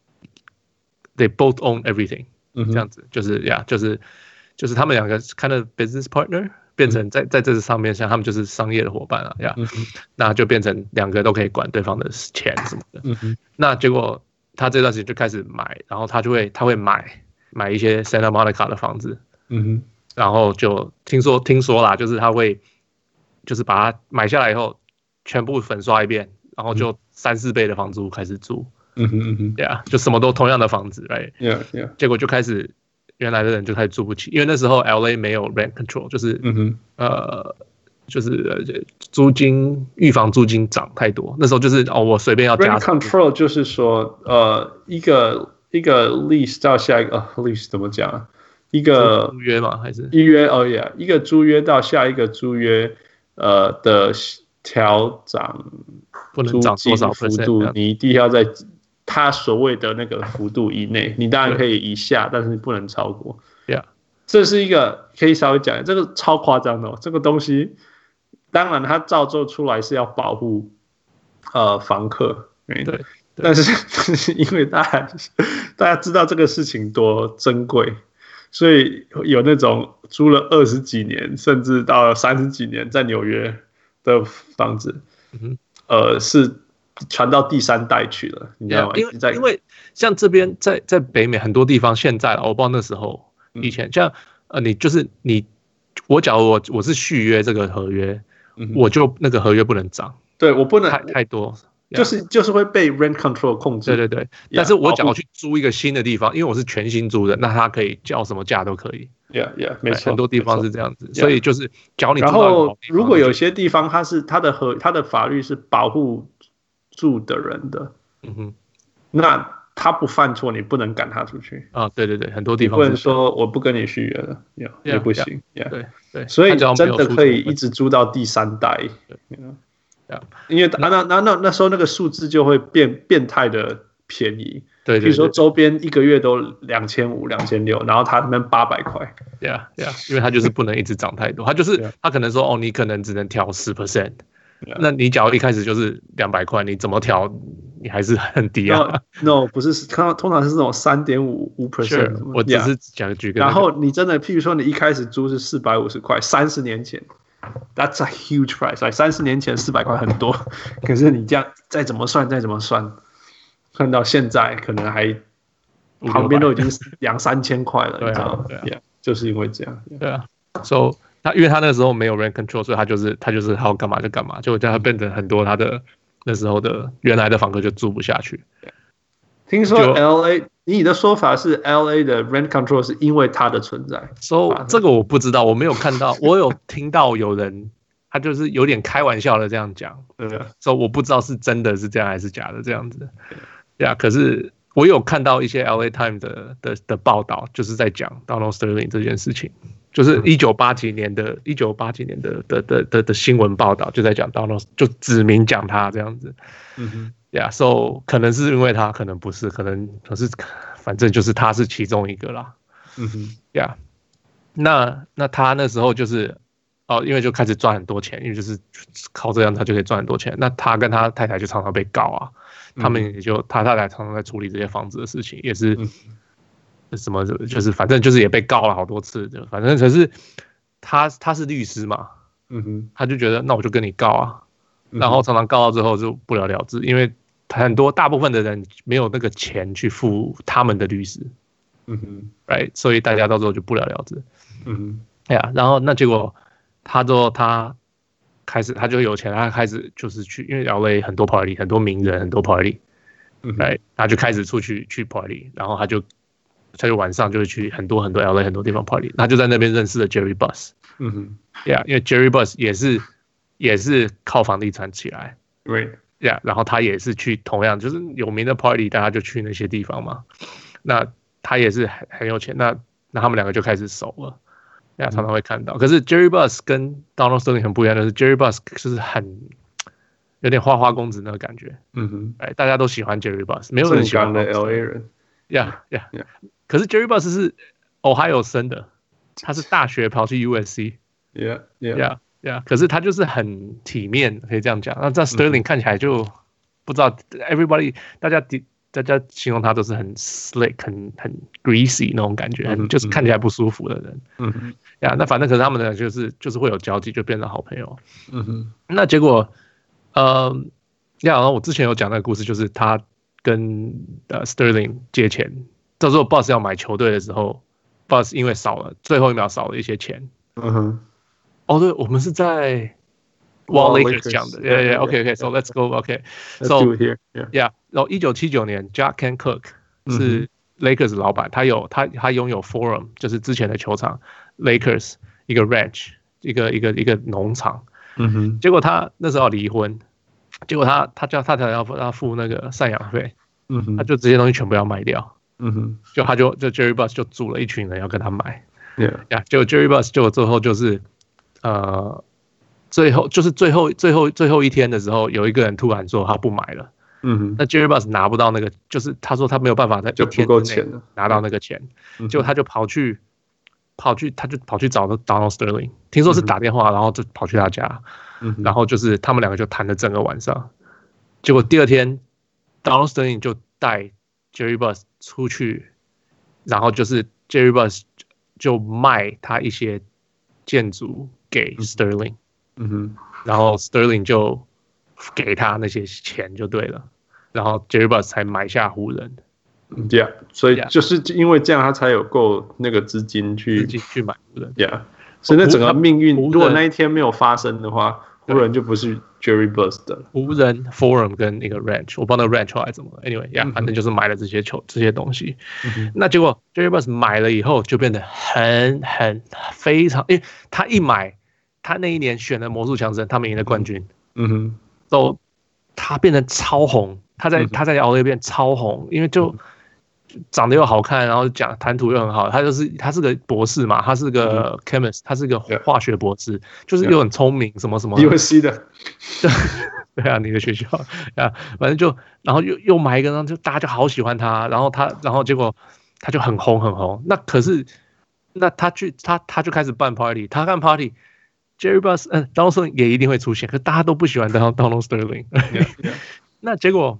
，They both own everything，、嗯、這樣子就是呀，就是。就是他們兩個 kind of business partner 變成在在這上面，像他們就是商業的夥伴啊，呀、嗯，那就變成兩個都可以管對方的錢什麼的。嗯、那結果他這段時間就開始買，然後他就會他會買買一些 Santa Monica 的房子，嗯、然後就聽說聽說啦，就是他會就是把它買下來以後全部粉刷一遍，然後就三四倍的房租開始租，嗯哼嗯哼，對啊，就什麼都同樣的房子 ，right？ Yeah, yeah. 結果就開始。原來的人就開始住不起，因為那時候 L A 沒有 rent control， 就是、嗯、呃，就是租金預防租金漲太多。那時候就是哦，我隨便要加。 rent control 就是說，呃，一個一個 lease 到下一個、哦、lease 怎麼講啊？一個租約嗎？還是一約？哦呀，一個租約到下一個租約，呃的調漲， 不能漲多少幅度，你一定要在。他所謂的那個幅度以內，你當然可以以下，但是你不能超過。 Yeah. 這是一個可以稍微講，這個超誇張的、哦。這個東西，當然它造就出來是要保護呃房客，對，對，但是但是因為大家大家知道這個事情多珍貴，所以有那種租了二十幾年，甚至到了三十幾年在紐約的房子，嗯、呃是。傳到第三代去了，你知道嗎？ 因為因為像這邊在在北美很多地方，現在我不知道那時候以前、嗯、像呃，你就是你，我假如我我是續約這個合約，嗯、我就那個合約不能漲， 對我不能太太多， 就是就是會被 rent control 控制。 對對對，但是我假如去租一個新的地方，因為我是全新租的，那它可以叫什麼價都可以。 Yeah, yeah, 沒錯， 很多地方是這樣子，所以就是假如你然後如果有些地方它是它的合它的法律是保護住的人的，嗯哼，那他不犯錯，你不能趕他出去啊。對對對，很多地方你不能說我不跟你續約了，也、yeah, yeah, 也不行。Yeah, yeah. 對對， 所以真的可以一直租到第三代。You know? yeah. 因為那那那那那時候那個數字就會變變態的便宜。 對， 比如說周邊一個月都兩千五、兩千六，然後他那邊八百塊。 Yeah, yeah， 因為他就是不能一直漲太多，他就是他可能說哦，你可能只能調十 percent， 那你假如一開始就是兩百塊，你怎麼調，你還是很低啊。 No，, no 不是，看到通常是這種三點五五 percent。 我只是講舉個。 然後你真的，譬如說你一開始租是四百五十塊，三十年前 ，That's a huge price。三十年前四百塊很多，可是你這樣再怎麼算，再怎麼算。看到現在可能還旁邊都已經兩三千塊了，你知道嗎？對啊，對啊 yeah, 就是因為這樣。Yeah. 對啊 ，So 他因為他那時候沒有 rent control， 所以他就是他就是好幹嘛就幹嘛，就叫他變成很多他的那時候的原來的房客就住不下去。 聽說 L A， 你的說法是 L A 的 rent control 是因為它的存在。 So 這個我不知道，我沒有看到，我有聽到有人他就是有點開玩笑的這樣講，對吧？所以我不知道是真的是這樣還是假的這樣子。Yeah, 可是我有看到一些 L A Times 的的的報道，就是在講 Donald Sterling 這件事情，就是一九八幾年的一九八幾年的的的的的新聞報道，就在講 Donald， 就指明講他這樣子。嗯哼 Yeah, so 可能是因為他，可能不是，可能可是反正就是他是其中一個啦。嗯哼 Yeah, 那那他那時候就是哦，因為就開始賺很多錢，因為就是靠這樣他就可以賺很多錢。那他跟他太太就常常被告啊。他們也就他太太常常在處理這些房子的事情，也是什麼就是反正就是也被告了好多次，就反正可是他他是律師嘛，嗯哼，他就覺得那我就跟你告啊，然後常常告到之後就不了了之，因為很多大部分的人沒有那個錢去付他們的律師，嗯哼 ，right， 所以大家到時候就不了了之，嗯哼，哎呀，然後那結果他之後他。開始他就有錢，他開始就是去，因為 L A 很多 party， 很多名人，很多 party， right，他就開始出去去 party， 然後他就他就晚上就會去很多很多 L A 很多地方 party， 他就在那邊認識了 Jerry Buss， 嗯哼 ，yeah， 因為 Jerry Buss 也是也是靠房地產起來 ，right，yeah， 然後他也是去同樣就是有名的 party， 大家就去那些地方嘛，那他也是很很有錢，那那他們兩個就開始熟了。Yeah, 常常會看到，可是 Jerry Buss 跟 Donald Sterling 很不一樣的是 ，Jerry Buss 就是很有點花花公子那個感覺，嗯哼，哎，大家都喜歡 Jerry Buss， 沒有人喜歡的 L A 人 ，Yeah Yeah Yeah， 可是 Jerry Buss 是 Ohio 生的，他是大學跑去 U S C，Yeah Yeah Yeah Yeah， 可是他就是很體面，可以這樣講。那在 Sterling 看起來就不知道 ，Everybody 大家大家形容他都是很 slick 很很 greasy 那種感覺，很就是看起來不舒服的人。嗯哼，呀，那反正可是他們呢，就是就是會有交集，就變成好朋友。嗯哼，那結果，呃，呀，然後我之前有講那個故事，就是他跟呃 Sterling 借錢，到時候 Buss 要買球隊的時候 ，Buss 因為少了最後一秒少了一些錢。嗯哼，哦，對，我們是在。Wall Lakers 講的 ，Yeah Yeah，OK OK，So let's go，OK，So Yeah， 然後一九七九年 ，Jack Kent Cooke 是 Lakers 老闆，他有他他擁有 Forum， 就是之前的球場 ，Lakers 一個 ranch， 一個一個一個農場，嗯哼，結果他那時候離婚，結果他他叫他才要他付那個贍養費，嗯哼，他就這些東西全部要賣掉，嗯哼，就他就就 Jerry Buss 就組了一群人要跟他買 ，Yeah， 呀，結果 Jerry Buss 就最後就是呃。最後就是最後最後最後一天的時候，有一個人突然說他不買了。嗯哼，那 Jerry Buss 拿不到那個，就是他說他沒有辦法在一天之內拿到那個錢，結果他就跑去跑去他就跑去找 Donald Sterling， 聽說是打電話，然後就跑去他家，然後就是他們兩個就談了整個晚上。結果第二天 Donald Sterling 就帶 Jerry Buss 出去，然後就是 Jerry Buss 就賣他一些建築給 Sterling。嗯哼，然後 Sterling 就給他那些錢就對了，然後 Jerry Buss 才買下湖人。 Yeah， 所以就是因為這樣，他才有夠那個資金去資金去買湖人。 Yeah， 所以那整個命運，如果那一天沒有發生的話，湖人就不是 Jerry Buss 的。 湖人 Forum 跟一個 Ranch， 我不知道那個 Ranch 後來怎麼了。Anyway， yeah， 反正就是買了這些球這些東西。嗯、那結果 Jerry Buss 買了以後，就變得很很非常，因為他一買。他那一年選了魔術強森，他們贏了冠軍。嗯哼，都他變得超紅，他在、嗯、他在 L A 變超紅，因為就長得又好看，然後講談吐又很好。他就是他是個博士嘛，他是個 chemist， 他是個化學博士，嗯、就是又很聰明，什麼什麼。 U S C 的。 對啊，你的學校啊，反正就然後又又買一個，然後就大家就好喜歡他，然後他然後結果他就很紅很紅。那可是那他去他他就開始辦 party， 他辦 party。Jerry Buss， 嗯 ，Donald Sterling 也一定會出現，可是大家都不喜歡 Donald Sterling。Yeah, yeah. 那結果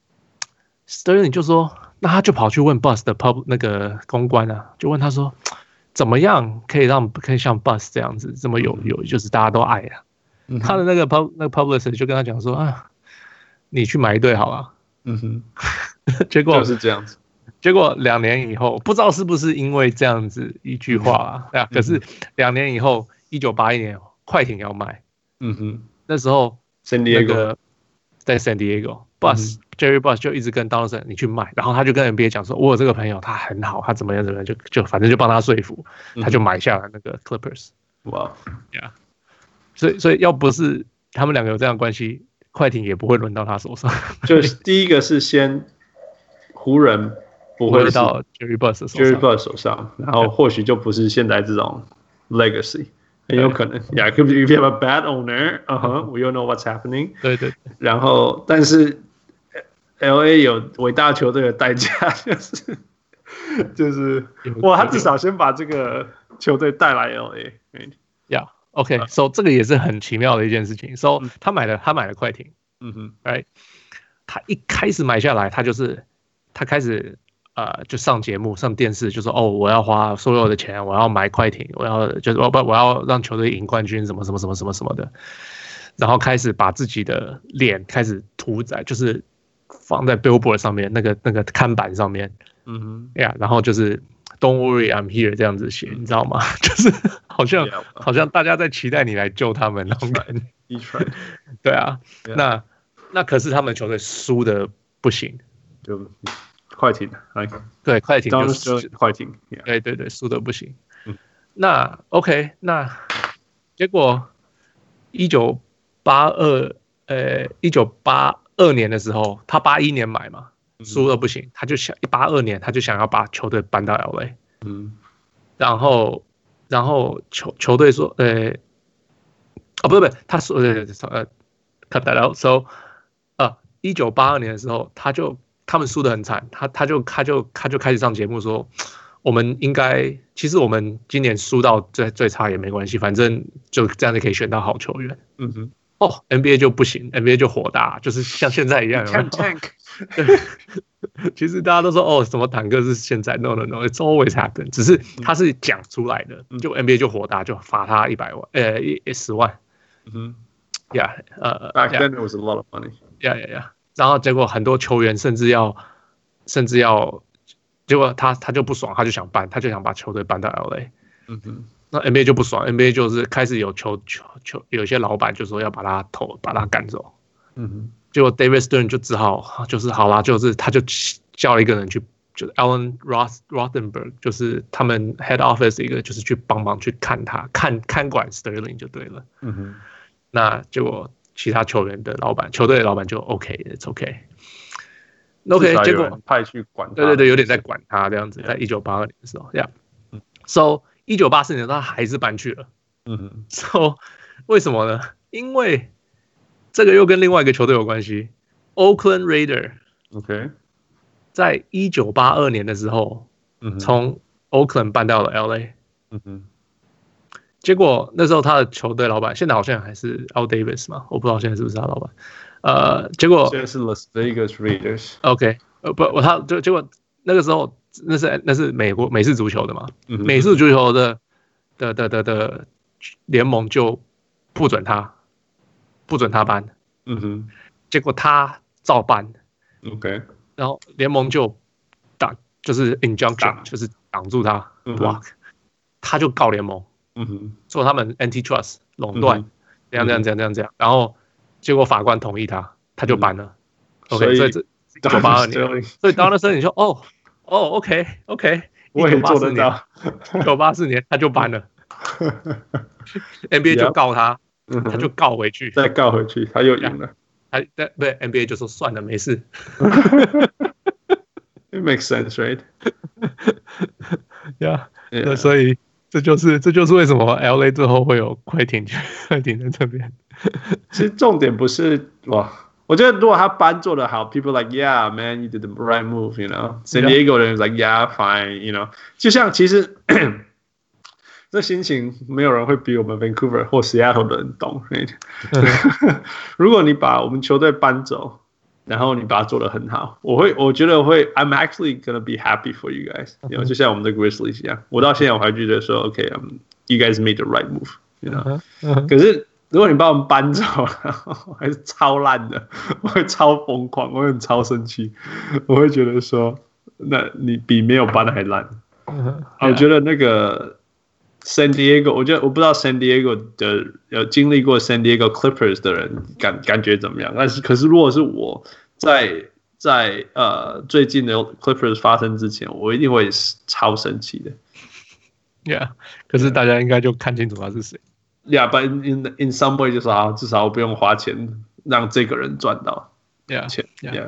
Sterling 就說，那他就跑去問 Buss 的 pub 那個公關啊，就問他說，怎麼樣可以讓可以像 Buss 這樣子這麼有有，就是大家都愛啊？嗯、他的那個 pub 那個 publicist 就跟他講說啊，你去買一對好了。嗯哼，結果就是這樣子。 結果兩年以後，不知道是不是因為這樣子一句話啊？對啊，可是兩年以後，一九八一年。快艇要賣，嗯哼，那時候那個在 San Diego，Buss、嗯、Jerry Buss 就一直跟 Donald Sterling 你去賣，然後他就跟 N B A 講說，我有這個朋友他很好，他怎麼樣怎麼樣，就就反正就幫他說服，他就買下了那個 Clippers。哇，呀，所以所以要不是他們兩個有這樣的關係，快艇也不會輪到他手上。 就是第一個是先湖人不會到 Jerry Buss 手上 ，Jerry Buss 手上，然後或許就不是現在這種 legacy。很有可能 ，Yeah, if you have a bad owner, 嗯哼 we all know what's happening。 對對。 然後，但是 L A 有偉大球隊的代價，就是就是哇，他至少先把這個球隊帶來 L A。 Yeah, OK, so 這個也是很奇妙的一件事情。So 他買了，他買了快艇。嗯哼 ，Right， 他一開始買下來，他就是他開始。呃，就上節目、上電視，就說哦，我要花所有的錢，我要買快艇，我要就是我不我要讓球隊贏冠軍，什麼什麼什麼什麼什麼的，然後開始把自己的臉開始塗在，就是放在 billboard 上面那個那個看板上面，嗯哼，呀， yeah, 然後就是 Don't worry, I'm here 這樣子寫，你知道嗎？就是好像 yeah, 好像大家在期待你來救他們那種感覺，對啊， yeah. 那那可是他們球隊輸的不行， 就。快艇， 對，快艇就是快艇， 對對對，輸的不行。嗯、那 OK， 那結果一九八二，呃，一九八二年的時候，他八一年買嘛，輸的不行，他就想八二年他就想要把球隊搬到 L A， 嗯，然後然後球球隊說，呃，哦不對不對，他說呃呃 cut that out，so 呃，一九八二年的時候他就。他們輸得很慘，他他就他就他就開始上節目說，我們應該其實我們今年輸到最最差也沒關係，反正就這樣就可以選到好球員。嗯哼，哦 ，N B A 就不行 ，N B A 就火大，就是像現在一樣。 Tank， 對，其實大家都說哦，什麼坦克是現在 ，no no no，it's always happen， 只是他是講出來的，就 N B A 就火大，就罰他一百萬，呃，一十萬。嗯哼 ，Yeah， 呃 ，Back then it was a lot of money。 Yeah yeah yeah。然後結果很多球員甚至要，甚至要，結果他他就不爽，他就想搬，他就想把球隊搬到 L A。嗯哼，那 N B A 就不爽 ，N B A 就是開始有球球球，有些老闆就說要把他投，把他趕走。嗯哼，結果 David Stern 就只好就是好啦，就是他就叫一個人去，就是 Alan Roth Rothenberg， 就是他們 Head Office 一個，就是去幫忙去看他，看看管 Sterling 就對了。嗯哼，那結果。其他球員的老闆，球隊的老闆就 OK，it's OK，OK， 結果派去管他， 對對對，有點在管他這樣子，在一九八二年的時候，這樣、yeah. So 一九八四年他還是搬去了，嗯哼 ，So 為什麼呢？因為這個又跟另外一個球隊有關係 ，Oakland Raider，OK， 在一九八二年的時候，嗯，從 Oakland 搬到了 L A， 嗯哼。結果那時候他的球隊老闆現在好像還是 Al Davis 嘛，我不知道現在是不是他老闆。呃，結果現在是 Las Vegas Raiders。 OK， 呃不，他就結果那個時候那是那是美國美式足球的嘛，嗯、美式足球的的的的的聯盟就不准他不准他搬。嗯哼，結果他照搬。OK， 然後聯盟就擋就是 injunction 就是擋住他 block，、嗯、他就告聯盟。嗯哼，說他們 antitrust 壟斷，這樣這樣這樣這樣這樣，然後結果法官同意他，他就搬了。嗯、OK， 所以這一九八二年，所以到那時候你說哦哦 OK OK， 我也做得到。 一九八四年他就搬了，N B A 就告他，他就告回去， 再告回去，他又贏了， 還對不对 ？N B A 就說算了，沒事。 It makes sense, right? Yeah. 那所以這就是這就是為什麼 L A 最後會有快艇快艇在這邊。 其實重點不是哇，我覺得如果他班做得好 ，people like yeah man, you did the right move, you know. San Diego 的人 like yeah fine, you know. 就像其實這心情沒有人會比我們 Vancouver 或 Seattle 的人懂。Right? 如果你把我們球隊搬走，然後你把它做得很好，我會我覺得我會 I'm actually gonna be happy for you guys. You know, 就像我們的 Grizzlies 一樣，我到現在我還覺得說 OK, um, you guys made the right move. You know. 可是如果你把我們搬走，還是超爛的，我會超瘋狂，我會很超生氣，我會覺得說，那你比沒有搬還爛。我覺得那個 San Diego， 我覺得我不知道 San Diego 的有經歷過 San Diego Clippers 的人感感覺怎麼樣？但是可是如果是我在在呃最近的 Clippers 發生之前，我一定會超生氣的。 Yeah， 可是大家應該就看清楚他是誰。 Yeah, but in in in some way 就是啊，至少我不用花錢讓這個人賺到 yeah, 錢。Yeah,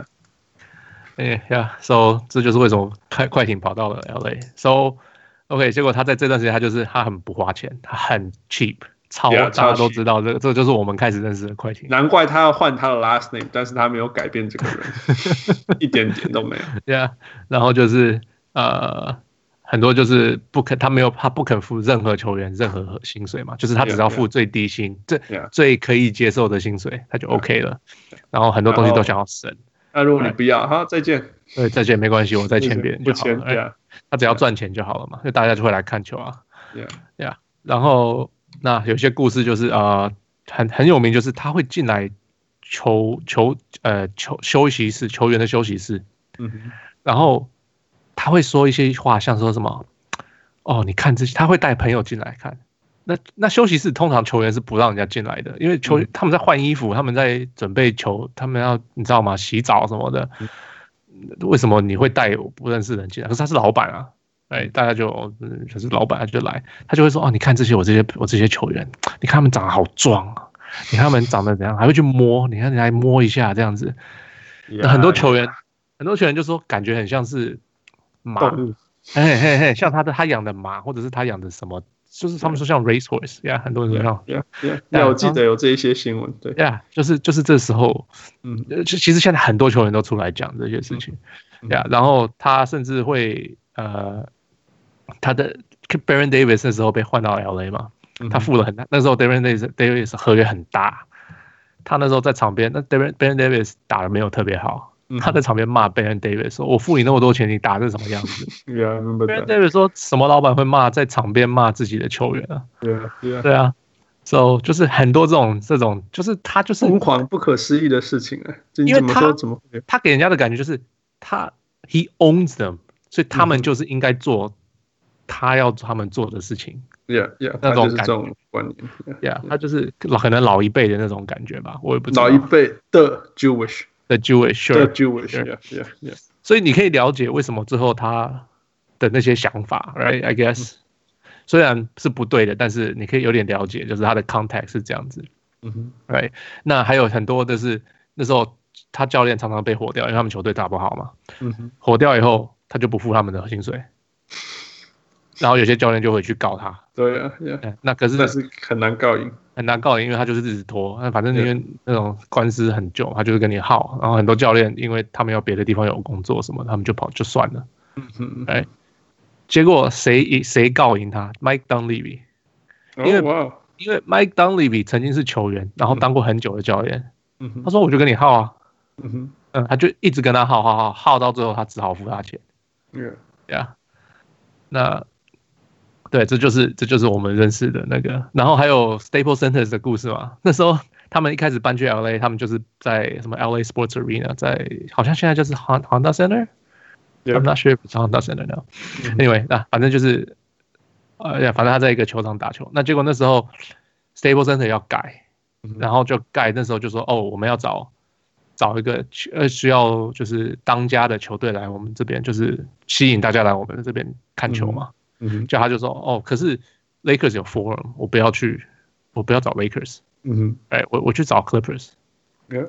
yeah, yeah. So 這就是為什麼快快艇跑到了 L A. So OK， 結果他在這段時間他就是他很不花錢，他很 cheap， 超 yeah, 大家都知道這個，這就是我們開始認識的快艇。 難怪他要換他的 last name， 但是他沒有改變這個人，一點點都沒有。 Yeah， 然後就是呃。很多就是不肯，他沒有，他不肯付任何球員任何薪水嘛，就是他只要付最低薪， yeah, yeah. 最最可以接受的薪水，他就 OK 了。Yeah. 然後很多東西都想要省。 那如果你不要，好，再見。 對，再見沒關係，我再簽別人就好了。 Yeah. 他只要賺錢就好了嘛，就大家就會來看球啊。 Yeah. Yeah. 然後那有些故事就是呃很很有名，就是他會進來球球呃球休息室，球員的休息室，嗯哼，然後。他會說一些話，像說什麼哦，你看這些，他會帶朋友進來看。那那休息室通常球員是不讓人家進來的，因為球員、嗯、他們在換衣服，他們在準備球，他們要你知道嗎？洗澡什麼的。嗯、為什麼你會帶我不認識的人進來？可是他是老闆啊，哎，大家就嗯，可是老闆他就來，他就會說哦，你看這些我這些我這些球員，你看他們長得好壯啊，你看他們長得怎樣，還會去摸，你看你來摸一下這樣子。Yeah, 很多球員，yeah. 很多球員就說感覺很像是。馬，嘿嘿嘿，像他的他養的馬，或者是他養的什麼，就是他們說像 racehorse，呀， yeah, 很多人說像， 呀呀呀，我記得有這一些新聞，對， 呀， yeah, 就是就是這時候，嗯，就其實現在很多球員都出來講這些事情，呀、嗯 yeah, 然後他甚至會呃，他的 Baron Davis 那時候被換到 L A 嘛，嗯、他付了很大，那時候 Baron Davis Davis 合約很大，他那時候在場邊，那 Baron Baron Davis 打得沒有特別好。他在場邊罵 Baron Davis 說：“我付你那麼多錢，你打成什麼樣子？” Yeah, Baron Davis 說什麼老闆會罵在場邊罵自己的球員啊？ Yeah, yeah. 對啊 ，So 就是很多這種這種，就是他就是瘋狂不可思議的事情啊！ 因為他他給人家的感覺就是他 he owns them， 所以他們就是應該做他要他們做的事情。 Yeah, yeah， 那種感覺觀念 ，Yeah， 他就是可能老一輩的那種感覺吧，我也不知道。 老一輩的 Jewish。 The Jewish, sure, the Jewish, sure. yeah, yeah, yeah. 所以你可以了解為什麼最後他的那些想法 ，right? I guess、嗯、雖然是不對的，但是你可以有點了解，就是他的 context 是這樣子，嗯哼 right? 那還有很多的是那時候他教練常常被火掉，因為他們球隊打不好嘛，嗯哼，火掉以後他就不付他們的薪水，然後有些教練就會去告他， 對啊 ，yeah. 那可是但是很難告贏。 很難告贏，因為他就是一直拖，反正因為那種官司很久，他就是跟你耗，然後很多教練因為他們有別的地方有工作什麼，他們就跑就算了，嗯哎，結果誰誰告贏他 ？Mike Dunleavy， 因為、oh, wow. 因為 Mike Dunleavy 曾經是球員，然後當過很久的教練，嗯、他說我就跟你耗啊，嗯嗯，他就一直跟他耗耗耗耗到最後，他只好付他錢，對呀，那。對，這就是這就是我們認識的那個，然後還有 Staples Center 的故事嘛。那時候他們一開始搬去 L A， 他們就是在什麼 L A Sports Arena， 在好像現在就是 Honda Center。I'm not sure if it's Honda Center now. Anyway， 那反正就是呃，反正他在一個球場打球。那結果那時候 Staples Center 要改，然後就蓋，那時候就說哦，我們要找找一個呃需要就是當家的球隊來我們這邊，就是吸引大家來我們這邊看球嘛。嗯，就他就說哦，可是 Lakers 有 Forum， 我不要去，我不要找 Lakers， 嗯哼，哎，我我去找 Clippers， yeah.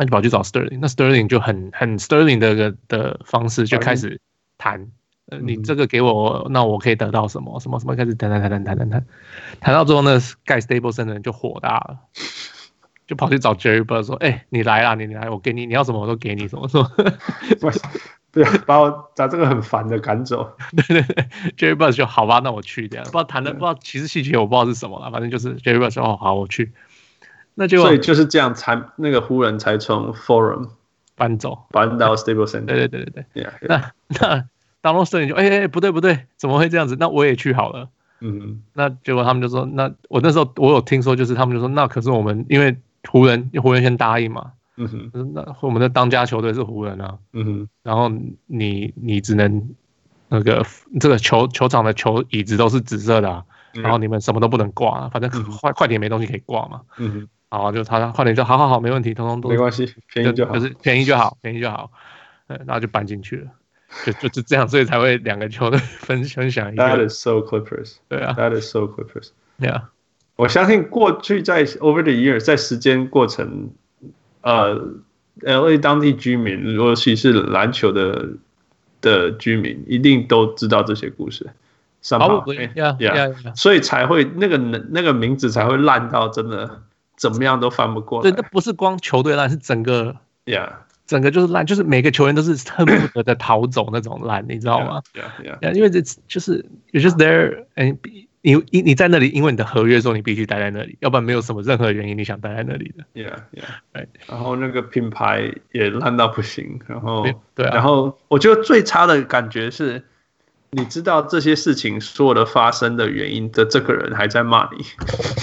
那就跑去找 Sterling， 那 Sterling 就很很 Sterling 的的方式就開始談，呃，你這個給我，那我可以得到什麼什麼什麼，開始談談談談談談談，談到最後呢，蓋 Stapleton 的人就火大了，就跑去找 Jerry Buss 說，哎、欸，你來啦，你你來，我給你，你要什麼我都給你，什麼什麼。 對，把我把這個很煩的趕走。 對對對 ，Jerry Buss 就好吧，那我去這樣，不知道談的不知道，其實細節我不知道是什麼了，反正就是 Jerry Buss 說哦好，我去。那就所以就是這樣才那個湖人才從 Forum 搬走， 搬到 Staples Center。 對對對對對。 Yeah, yeah. 那那 Donald Sterling 就哎哎、欸、不對不對，怎麼會這樣子？那我也去好了。嗯。那結果他們就說，那我那時候我有聽說，就是他們就說，那可是我們因為湖人湖人先答應嘛。嗯哼。那我們的當家球隊是湖人啊。嗯哼。然後你你只能那個這個球球場的球椅子都是紫色的啊。嗯、然後你們什麼都不能掛、啊，反正快、嗯、快點沒東西可以掛嘛。嗯哼。好，就他快點就好好好，沒問題，通通都沒關係，便宜就好， 就，就是便宜就好，便宜就好，然後就搬進去了，就就就這樣，所以才會兩個球隊分分享一個。 That is so Clippers。對啊 ，That is so Clippers。 Yeah， 我相信過去在 over the years 在時間過程，呃 ，L A 當地居民，尤其是籃球的的居民，一定都知道這些故事。 Probably， yeah, yeah, yeah. 所以才會那個那個名字才會爛到真的。怎麼樣都翻不過來。 對，那不是光球隊爛，是整個 ，Yeah， 整個就是爛，就是每個球員都是恨不得的逃走那種爛，你知道嗎 ？Yeah，Yeah， yeah, 因為這就是 you're just there， and 你你你在那裡，因為你的合約說你必須待在那裡，要不然沒有什麼任何原因你想待在那裡的。 Yeah，Yeah， 然後那個品牌也爛到不行，然後對啊， 然後我覺得最差的感覺是，你知道這些事情所有的發生的原因的這個人還在罵你。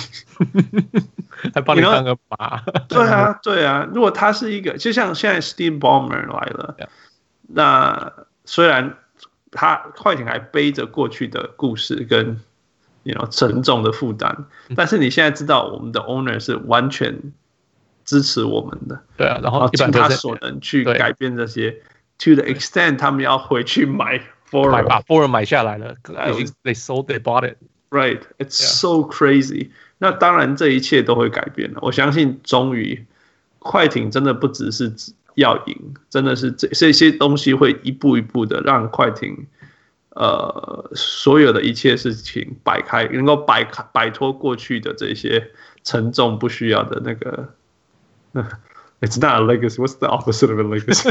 還幫你當個媽， 對啊，對啊。如果他是一個，就像現在 Steve Ballmer 來了， yeah. 那雖然他快艇還背着過去的故事跟 you know 沉重的負擔，嗯，但是你現在知道我們的 owner 是完全支持我們的， 對啊，然後盡他所能去改變這些 ，to the extent 他們要回去買 Forum， 把 Forum 買下來了 ，they sold, they bought it。Right, it's so crazy. 那當然，這一切都會改變了。我相信，終於，快艇真的不只是要贏，真的是這這些東西會一步一步的讓快艇，呃，所有的一切事情擺開，能夠擺開擺脫過去的這些沉重不需要的那個。It's not a legacy. What's the opposite of a legacy?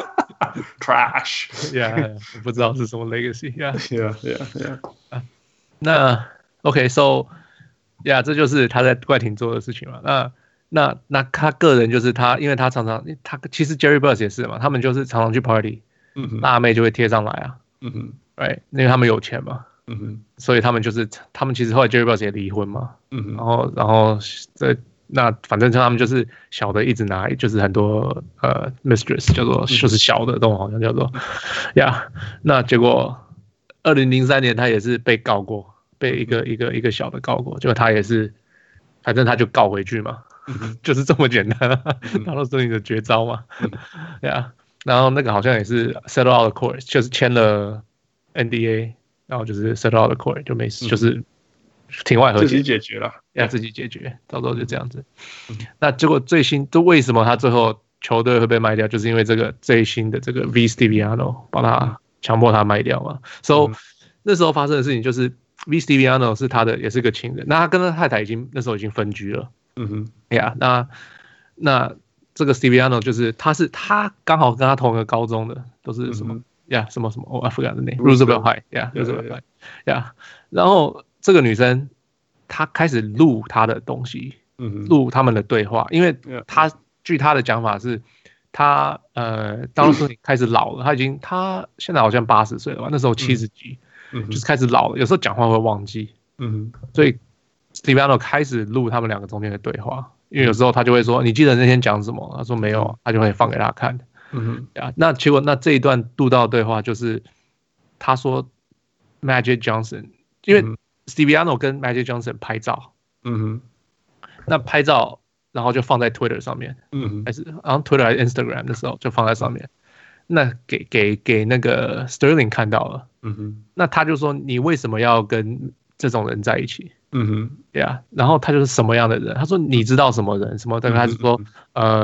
Trash. Yeah, 我不知道是什麼 legacy. Yeah, yeah, yeah, yeah. 那 OK，so， 呀，這就是他在快艇做的事情嘛。那那那他個人就是他，因為他常常他其實 Jerry Buss 也是嘛，他們就是常常去 party， 嗯，辣妹就會貼上來啊，嗯哼 ，right， 因為他們有錢嘛，嗯哼，所以他們就是他們其實後來 Jerry Buss 也離婚嘛，嗯哼，然後然後這那反正他們就是小的一直拿，就是很多呃 mistress 叫做就是小的都好像叫做呀， yeah, 那結果。二零零三年，他也是被告過，被一個一個一個小的告過，結果他也是，反正他就告回去嘛，嗯、就是這麼簡單，他都是你的絕招嘛，對啊、嗯。Yeah, 然後那個好像也是 settle out the court， 就是簽了 N D A， 然後就是 settle out the court 就沒事，嗯、就是庭外和解， 自己解決了， 要自己解決，到時候就這樣子。嗯、那結果最新，就為什麼他最後球隊會被賣掉，就是因為這個最新的這個 V Stiviano 把他。強迫他賣掉嘛，所以、so, 嗯、那時候發生的事情就是 V Stiviano 是他的，也是個情人。那他跟他太太已經那時候已經分居了。嗯哼，呀、yeah, 那那這個 Stiviano 就是他是他剛好跟他同一個高中的，都是什麼呀、嗯 yeah, 什麼什麼哦 I forgot the name Roosevelt High 呀 Roosevelt High 呀。然後這個女生她開始錄他的東西，嗯、錄他們的對話，因為他據他的講法是。他呃，當時開始老了，他已經他現在好像八十歲了吧？那時候七十幾，嗯、就是開始老了，有時候講話會忘記。嗯，所以 Stiviano 開始錄他們兩個中間的對話，因為有時候他就會說：“你記得那天講什麼？”他說：“沒有。”他就會放給他看。嗯哼，那結果那這一段錄到的對話就是他說 Magic Johnson， 因為 Stiviano 跟 Magic Johnson 拍照。嗯哼，那拍照。然後就放在 Twitter 上面，嗯，還是然後 Twitter 還是 Instagram 的時候就放在上面，那給給給那個 Sterling 看到了，嗯哼，那他就說你為什麼要跟這種人在一起？嗯哼，對啊，然後他就是什麼樣的人？他說你知道什麼人？什麼的？他就說呃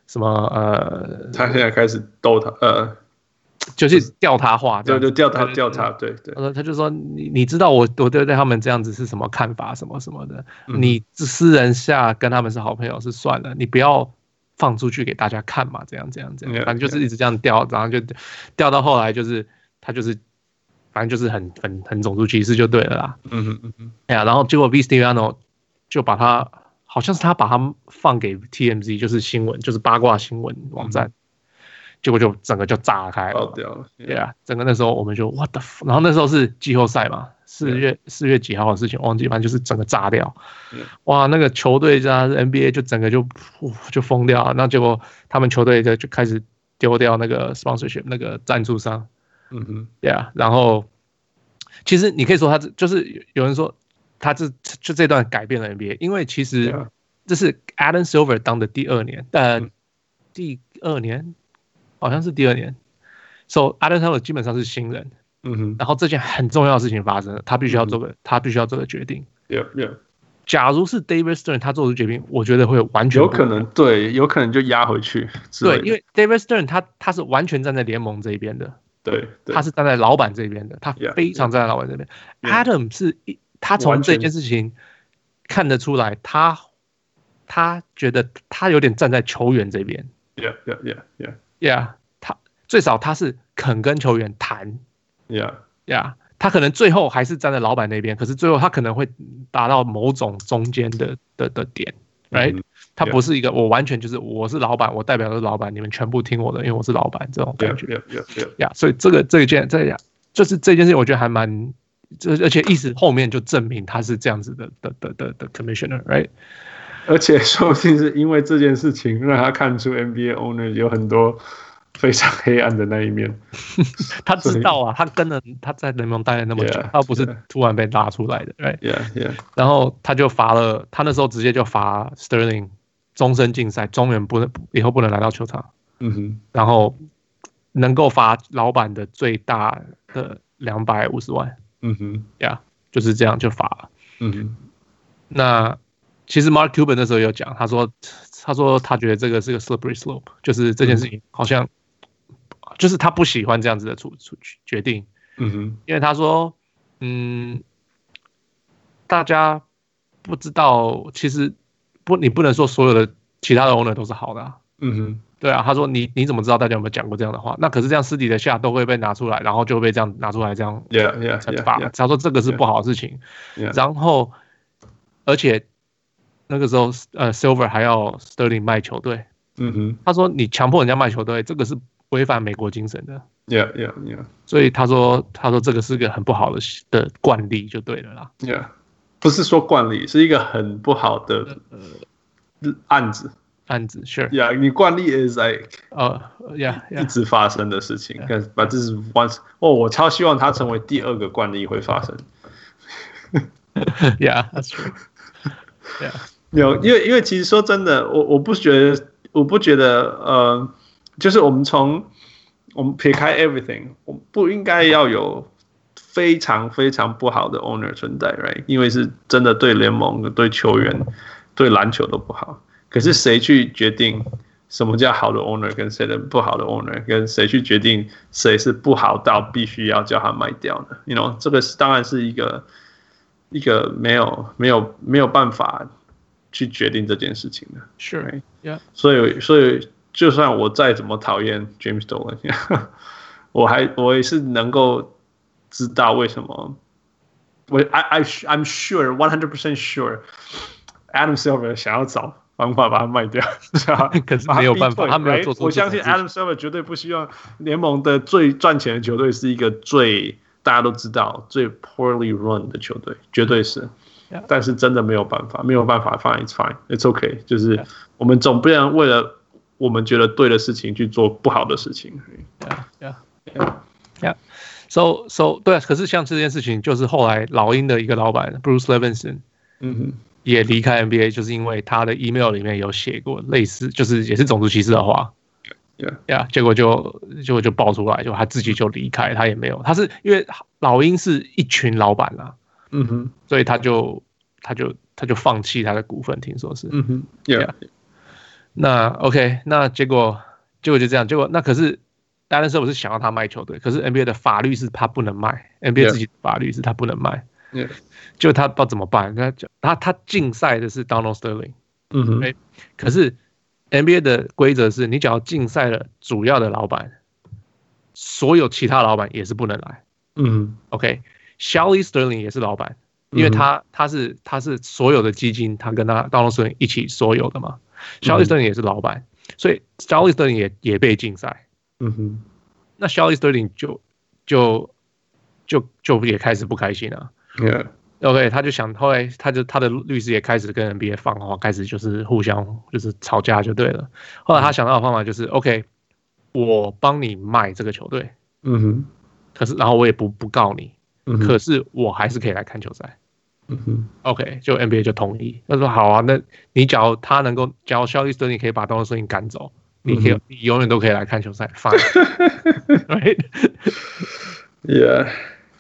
什麼呃， 他現在開始逗他，呃， 就是調他話， 對，就調他調他，對對。 他說他就說你你知道我我對對他們這樣子是什麼看法什麼什麼的， 嗯、 你私人下跟他們是好朋友是算了，你不要放出去給大家看嘛，這樣這樣這樣，反正就是一直這樣調，然後就調到後來就是他就是反正就是很很很種族歧視就對了啦。 嗯哼嗯哼， 哎呀，然後結果 V. Stevano 就把他。好像是他把他放給 T M Z， 就是新聞，就是八卦新聞網站，嗯、結果就整個就炸開了，爆掉了。對啊，整個那時候我們就 What the fuck，然後那時候是季後賽嘛，四月四 Yeah. 月幾號的事情忘記，反正就是整個炸掉。Yeah. 哇，那個球隊加 N B A 就整個就就瘋掉了，那結果他們球隊就就開始丟掉那個 sponsorship 那個贊助商。嗯哼，對啊，然後其實你可以說他就是有人說。他這就這段改變了 N B A， 因為其實這是 Adam Silver 當的第二年，呃，嗯、第二年好像是第二年，so Adam Silver 基本上是新人，嗯哼，然後這件很重要的事情發生了，他必須要做個，嗯、他必須要做個決定。 Yeah, yeah. 假如是 David Stern 他做出決定，我覺得會完全有可能，對，有可能就壓回去。 對，因為 David Stern 他他是完全站在聯盟這一邊的， 對，對他是站在老闆這邊的，他非常站在老闆這邊。Yeah, yeah. Adam 是一。他從這件事情看得出來，他他覺得他有點站在球員這邊。 Yeah, yeah, yeah, yeah. Yeah， 他最少他是肯跟球員談。 Yeah, yeah， 他可能最後還是站在老闆那邊，可是最後他可能會達到某種中間的的的點。Right？、Mm hmm. 他不是一個我完全就是我是老闆，我代表的是老闆，你們全部聽我的，因為我是老闆這種感覺。 Yeah, yeah, yeah, yeah. Yeah， 所以這個這一件這樣就是這件事情，我覺得還蠻。而且意思後面就證明他是這樣子的的的的的 commissioner，right？ 而且說不定是因為這件事情讓他看出 N B A owner 有很多非常黑暗的那一面。 他知道啊，他跟了他在聯盟待了那麼久， yeah, 他不是突然被拉出來的 ，right？Yeah, yeah. 然後他就罰了，他那時候直接就罰 Sterling 終身禁賽，永遠不能以後不能來到球場。嗯哼。然後能夠罰老闆的最大的兩百五十萬。嗯哼，呀， yeah, 就是這樣就罰了。嗯哼，那其實 Mark Cuban 那時候有講，他說，他說他覺得這個是個 slippery slope，就是這件事情好像，嗯、就是他不喜歡這樣子的處處決定。嗯哼，因為他說，嗯，大家不知道，其實不，你不能說所有的其他的 owner 都是好的、啊。嗯哼。對啊，他說你你怎麼知道大家有沒有講過這樣的話？那可是這樣私底下都會被拿出來，然後就會被這樣拿出來這樣懲罰。Yeah, yeah, yeah, yeah. 他說這個是不好的事情。Yeah, yeah. 然後而且那個時候呃 ，Silver 還要 Sterling 賣球隊。嗯哼，他說你強迫人家賣球隊，這個是違反美國精神的。 Yeah, yeah, yeah. 所以他說他說這個是個很不好的的慣例，就對了啦。 Yeah， 不是說慣例，是一個很不好的案子。 案子 ，sure， yeah， 你慣例 is like， 呃、uh, ，yeah， 一直發生的事情，但把這是 once， 哦，我超希望它成為第二個慣例會發生。 Yeah，that's true。Yeah， 有，因為因為其實說真的，我我不覺得，我不覺得，呃，就是我們從我們撇開 everything， 我們不應該要有非常非常不好的 owner 存在 ，right？ 因為是真的對聯盟、對球員、對籃球都不好。可是誰去決定什麼叫好的 owner 跟誰的不好的 owner， 跟誰去決定誰是不好到必須要叫他賣掉呢？ You know， 這個是當然是一個一個沒有沒有沒有辦法去決定這件事情的。 Sure， yeah。 所以所以就算我再怎麼討厭 James Dolan， 我還我也是能夠知道為什麼。我 I I I'm sure one hundred percent sure Adam Silver 想要找方法把它賣掉， 可是沒有辦法，他沒有做出。 我相信 Adam Silver 絕對不希望聯盟的最賺錢的球隊是一個最大家都知道最 poorly run 的球隊，絕對是。Yeah. 但是真的沒有辦法，沒有辦法 ，fine it's fine it's okay， 就是我們總不能為了我們覺得對的事情去做不好的事情。 Yeah, yeah, yeah, yeah. So so 對，可是像這件事情，就是後來老鷹的一個老闆 Bruce Levinson， 嗯哼。也離開 N B A， 就是因為他的 email 裡面有寫過類似，就是也是種族歧視的話，呀 Yeah. yeah, 結果就結果就爆出來，就他自己就離開，他也沒有，他是因為老鷹是一群老闆啦，嗯哼，所以他就他就他就放棄他的股份，聽說是，嗯哼 ，Yeah， 那 OK， 那結果結果就這樣，結果那可是當然是我是想要他賣球隊，可是 N B A 的法律是他不能賣 ，N B A 自己的法律是他不能賣， yeah. 就他不知道怎麼辦，他他他禁賽的是 Donald Sterling， 嗯哼， 欸，可是 N B A 的規則是你只要禁賽了主要的老闆，所有其他老闆也是不能來， 嗯 ，OK，Shelly Sterling 也是老闆，因為他他是他是所有的基金，他跟他 Donald Sterling 一起所有的嘛。Shelly Sterling 也是老闆，所以 Shelly Sterling 也也被禁賽。 嗯哼， 那 Shelly Sterling 就就就就也開始不開心了。 Yeah. OK， 他就想，後來他就他的律師也開始跟 N B A 放話，開始就是互相就是吵架就對了。後來他想到的方法就是 OK， 我幫你賣這個球隊。 嗯哼， 可是然後我也不不告你， 嗯哼， 可是我還是可以來看球賽。 嗯哼 OK， 就 N B A 就同意，他說好啊，那你假如他能夠，假如Shelly Sterling可以把 Donald Sterling 趕走，你可以，嗯，你永遠都可以來看球賽 ，fine，right？ Yeah，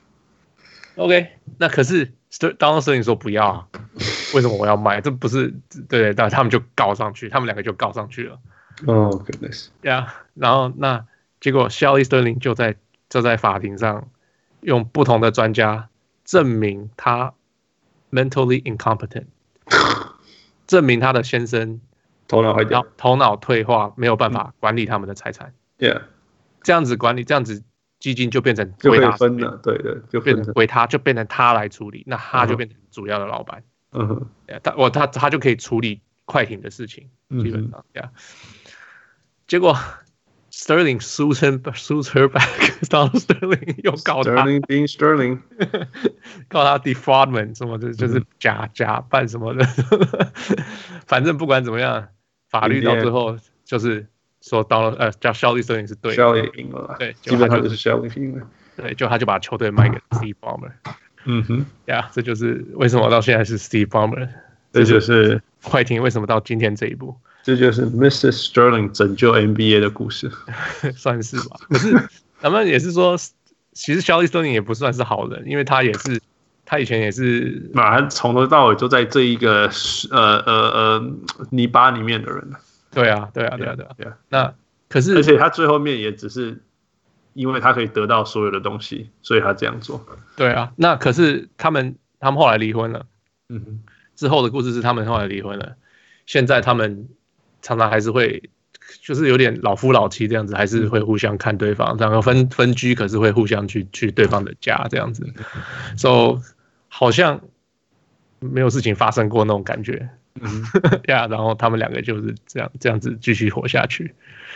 OK， 那可是 Donald Sterling 說不要啊，為什麼我要賣？這不是對，但他們就告上去，他們兩個就告上去了。 Oh goodness，Yeah， 然後那結果 Shelly Sterling 就在就在法庭上用不同的專家證明他mentally incompetent， 證明他的先生頭腦壞掉， 頭腦退化，沒有辦法管理他們的財產。 Yeah， 這樣子管理，這樣子基金就變成就可以分了，對的，就變成歸他，就變成他來處理，那他就變成主要的老闆。 嗯哼， 他我他他就可以處理快艇的事情，基本上，呀。結果 Sterling sues him sues her back，Donald Sterling 又告他 ，Sterling being Sterling， 告他 defraudment 什麼的，就是假假扮什麼的，反正不管怎麼樣，法律到最後就是說 Donald 呃叫 Shelly Sterling 是對的 ，Shelly 贏了， 對， 基本上就是 Shelly 贏了， 對，就他就把球隊賣給 Steve Ballmer， 嗯哼， 呀，這就是為什麼到現在是 Steve Ballmer， 這就是快艇為什麼到今天這一步。 這就是 missus Sterling 拯救 N B A 的故事， 算是吧。可是咱們也是說，其實 Shelly Sterling 也不算是好人，因為他也是，他以前也是， 他從頭到尾都在這一個呃呃呃泥巴裡面的人。 對啊，對啊，對啊，對啊。Yeah, yeah. 那可是， 而且他最後面也只是因為他可以得到所有的東西，所以他這樣做。 對啊，那可是他們他們後來離婚了。 嗯哼， 之後的故事是他們後來離婚了，現在他們常常還是會，就是有點老夫老妻這樣子，還是會互相看對方，然後分分居，可是會互相去去對方的家這樣子，所以、so, 好像沒有事情發生過那種感覺，嗯呀， yeah, 然後他們兩個就是這樣這樣子繼續活下去。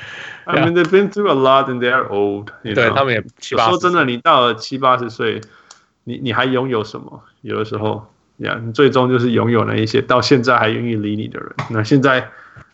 I mean, they've been through a lot and they're old. 對，他們也七八十歲。 說真的，你到了七八十歲，你你還擁有什麼？有的時候，呀，你最終就是擁有那一些到現在還願意理你的人。那現在。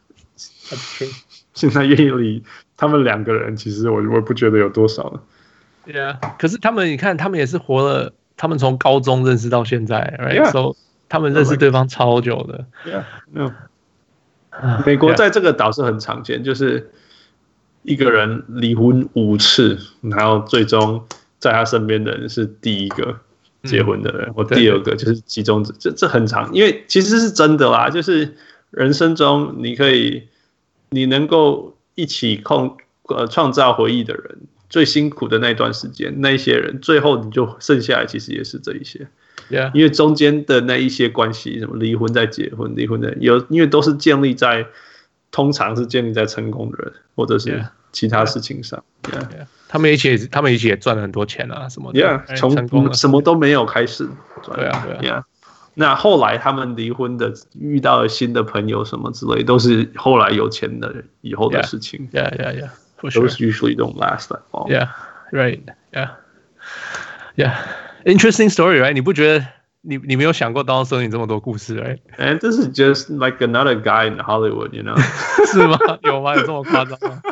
現在願意理他們兩個人，其實我我不覺得有多少了。 對啊，可是他們你看，他們也是活了，他們從高中認識到現在 ，right？ So 他們認識對方超久的。 Yeah, no. 美國在這個島是很常見，就是一個人離婚五次，然後最終在他身邊的人是第一個結婚的人，嗯、或第二個就是其中這這這很常，因為其實是真的啦，就是。人生中，你可以，你能夠一起控呃創造回憶的人，最辛苦的那段時間，那一些人，最後你就剩下來，其實也是這一些。 Yeah. 因為中間的那一些關係，什麼離婚再結婚，離婚的有，因為都是建立在，通常是建立在成功的人或者是其他事情上。Yeah. Yeah. Yeah. 他們一起，他們一起也賺了很多錢啊，什麼的。 Yeah， 從什麼都沒有開始賺。 對啊，對啊。 Yeah. 那後來他們離婚的，遇到了新的朋友什麼之類，都是後來有錢的以後的事情。 Yeah, yeah, yeah. For sure. Those usually don't last that long. Yeah, right. Yeah, yeah. Interesting story, right? 你不覺得你你沒有想過Donald Sterling這麼多故事 ，right? And this is just like another guy in Hollywood, you know? 是嗎？有嗎？有這麼誇張嗎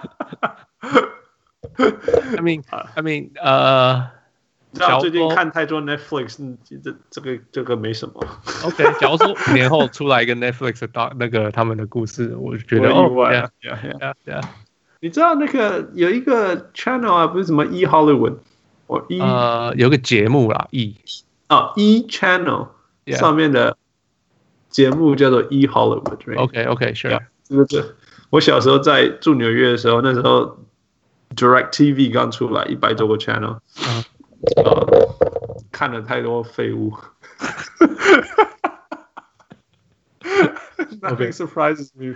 ？I mean, I mean, 呃、uh,。 最近看太多 Netflix， 這這個這個沒什麼。OK， 假如說五年後出來一個 Netflix 的那個他們的故事，我覺得意外。 哦 yeah, yeah, yeah, yeah. 你知道那個有一個 channel 啊，不是什麼 E Hollywood， 或 E 呃有個節目啦 E 哦 E Channel 上面的節目叫做 E Hollywood，right? OK OK sure， 這個這，我小時候在住紐約的時候，那時候 DirecTV 剛出來，一百多個 channel，、嗯呃、看了太多廢物。Nothing surprises me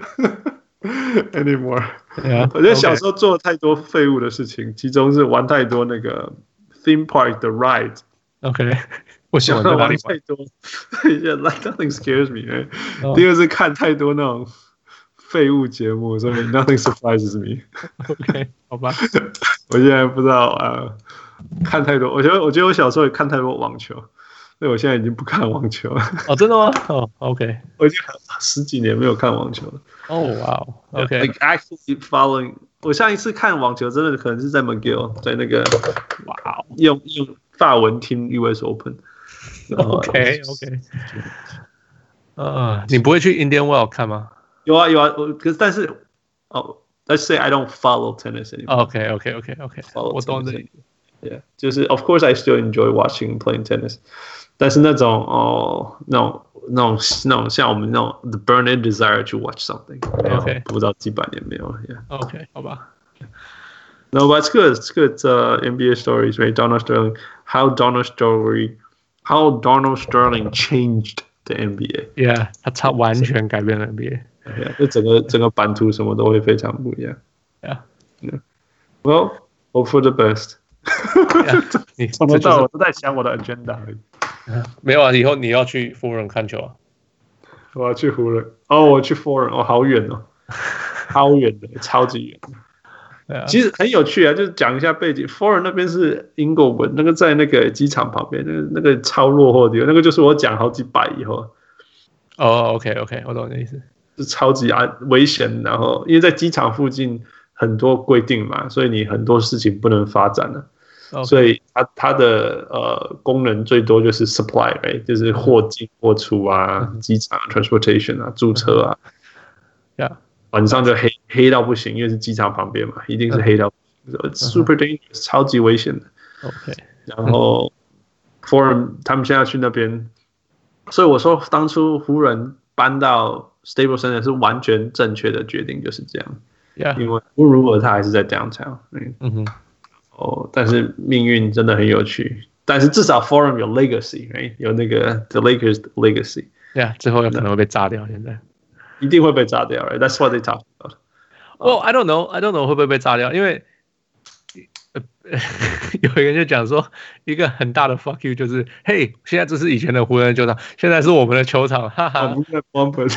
anymore. Yeah, 我覺得小時候做了太多廢物的事情，其中是玩太多那個 theme park 的 ride。OK， 我喜歡玩太多。Yeah, like nothing scares me. Oh. 第二是看太多那種廢物節目，所以 nothing surprises me. OK， 好吧。 我現在不知道啊、呃，看太多。我覺得，我覺得我小時候也看太多網球。所以我現在已經不看網球了。 哦，真的嗎？哦 ，OK， 我已經十幾年沒有看網球了。 哦，哇 ，OK。 Like actually following， 我上一次看網球真的可能是在 McGill， 在那個哇，用用法文聽 U S Open。OK，OK。 呃，你不會去 Indian Wells 看嗎？ 有啊有啊，我可是但是哦 ，Let's say I don't follow tennis anymore. OK，OK，OK，OK。我懂的。 Yeah， 就是 Of course I still enjoy watching and playing tennis。但是那種哦，那種那種那種像我們那種 the burning desire to watch something，OK， 不知道幾百年沒有了 ，Yeah，OK， 好吧。 No, but it's good. It's good. Uh, N B A stories, right? Donald Sterling, how Donald Sterling, how Donald Sterling changed the N B A. Yeah， 他超完全改變了 N B A。 Yeah， 这整個整個版圖什麼都會非常不一樣。 Yeah. Yeah. Well, hope for the best. 你從頭到尾都在想我的 agenda 而已。 沒有啊，以後你要去湖人看球啊？ 我要去湖人哦，我去湖人哦，好遠哦，超遠的，超級遠。啊、其實很有趣啊，就是講一下背景。湖人那邊是 Inglewood， 那個在那個機場旁邊，那個那個超落後的地方，那個就是我講好幾百以後。 哦 ，OK OK， 我懂你的意思， 是超級安危險，然後因為在機場附近很多規定嘛，所以你很多事情不能發展了。Okay. 所以它它的呃功能最多就是 supply，right? 就是貨進貨出啊，機場 transportation 啊，駐車啊， yeah. 晚上就黑黑到不行，因為是機場旁邊嘛，一定是黑到不行， so it's super dangerous， 超級危險的。 OK， 然後 Forum 他們現在去那邊，所以我說當初湖人搬到 Staples Center 是完全正確的決定，就是這樣。 Yeah. 因為如果他還是在 downtown， 嗯哼。哦，但是命運真的很有趣。但是至少 Forum 有 legacy，right? 有那個 the Lakers 的 legacy。 對啊，最後有可能會被炸掉。現在一定會被炸掉 ，right? That's what they talk about. Well, I don't know, I don't know 會不會被炸掉，因為有人就講說，一個很大的 fuck you 就是，嘿，現在這是以前的湖人球場，現在是我們的球場，哈哈。 I'm gonna bomb it.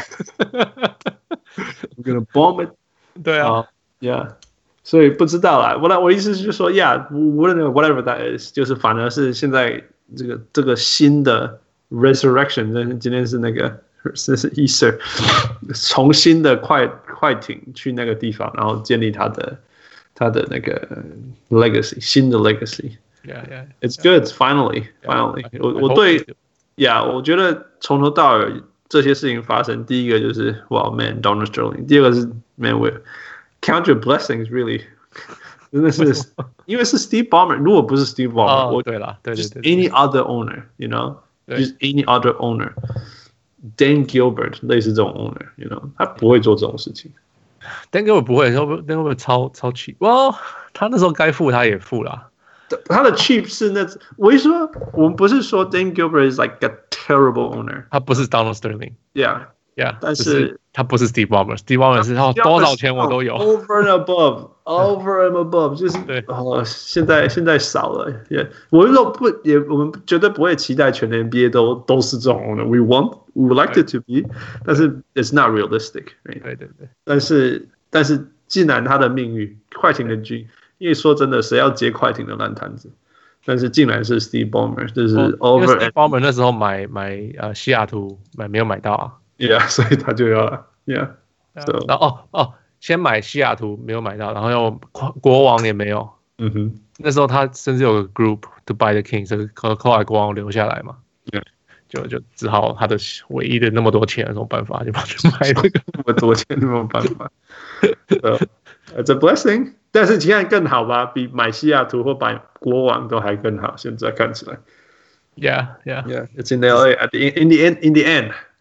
I'm gonna bomb it. 對啊、uh, ，Yeah. 所以不知道啦，我我意思就是說 ，Yeah， 無論 whatever that is， 就是反而是現在這個這個新的 resurrection， 今天是那個這是 Easter， 重新的快快艇去那個地方，然後建立他的他的那個 legacy， 新的 legacy。Yeah, yeah. It's good. Finally, finally. 我我對 ，Yeah， 我覺得從頭到尾這些事情發生，第一個就是哇 man Donald Sterling， 第二個是 man with。Count your blessings, really. 真的是，因為是 Steve Ballmer， 如果不是 Steve Ballmer， 我對了，對對對 ，any other owner, you know, just any other owner, Dan Gilbert 類似這種 owner, you know， 他不會做這種事情。 Dan Gilbert 不會，Dan Gilbert 超超 cheap。哇，他那時候該付他也付了。 他的 cheap 是那，我一說，我們不是說 Dan Gilbert is like a terrible owner， 他不是 Donald Sterling。Yeah。Yeah， 但是他不是 Steve Ballmer，Steve Ballmer 是他多少錢我都有 ，over and above，over and above， 就是對哦，現在現在少了，也、yeah, 我們都不也我們絕對不會期待全 N B A 都都是這種的 ，we want we would like it to be， 但是 it's not realistic，right? 對對對， 但是但是既然他的命運快艇的軍，因為說真的，誰要接快艇的爛攤子？但是竟然是 Steve Ballmer， 就是 over， 因為 Steve Ballmer 那時候買買呃西雅圖買沒有買到啊。 Yeah， 所以他就要 ，Yeah，so， 然後哦哦，先買西雅圖沒有買到，然後又國王也沒有， 嗯哼， 那時候他甚至有個 group to buy the Kings， 可後來國王留下來嘛， Yeah， 就就只好他的唯一的那麼多錢，有什麼辦法就跑去買這個那麼多錢，沒有辦法 ，so, it's a blessing， 但是現在更好吧，比買西雅圖或買國王都還更好，現在看起來 ，Yeah Yeah Yeah，it's in L A at the in the end in the end。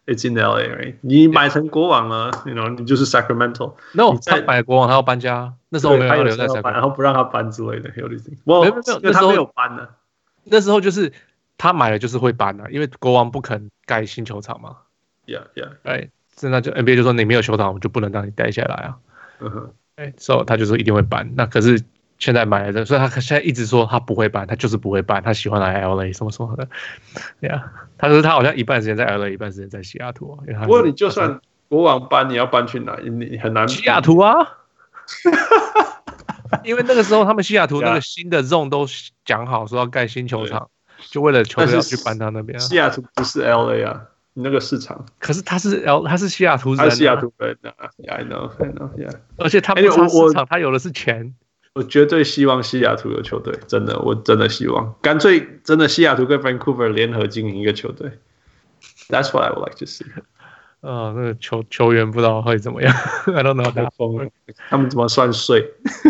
it's in L A, right? 你買成國王了 ，you know， 你就是 Sacramento。 No， 他買國王他要搬家，那時候沒有要留在 Sacramento， 然後不讓他搬之類的，有啲。沒有沒有，因為他沒有搬呢。 那時候就是他買了就是會搬的，因為國王不肯蓋新球場嘛。 Yeah, yeah. 哎，那就 N B A 就說你沒有球場，我就不能讓你待下來啊。嗯哼。哎，所以他就說一定會搬。那可是現在買了的，所以他現在一直說他不會搬，他就是不會搬，他喜歡來 L A 什麼什麼的。Yeah， 他說他好像一半時間在 L A， 一半時間在西雅圖。 不過你就算國王搬，你要搬去哪？你很難。 西雅圖啊。因為那個時候他們西雅圖那個新的 zone 都講好說要蓋新球場，就為了球隊要去搬到那邊、啊。 西雅圖不是 L A 啊，你那個市場。 可是他是 L， 他是西雅圖人、啊。 他是西雅圖人啊 yeah, I know, I know, yeah. 而且他不是市場，他有的是錢。 我絕對希望西雅圖有球隊，真的，我真的希望，乾脆真的西雅圖跟 Vancouver 聯合經營一個球隊。That's what I would like to see. 呃，那個球球員不知道會怎麼樣 ，I don't know， 打瘋了， 他們怎麼算稅？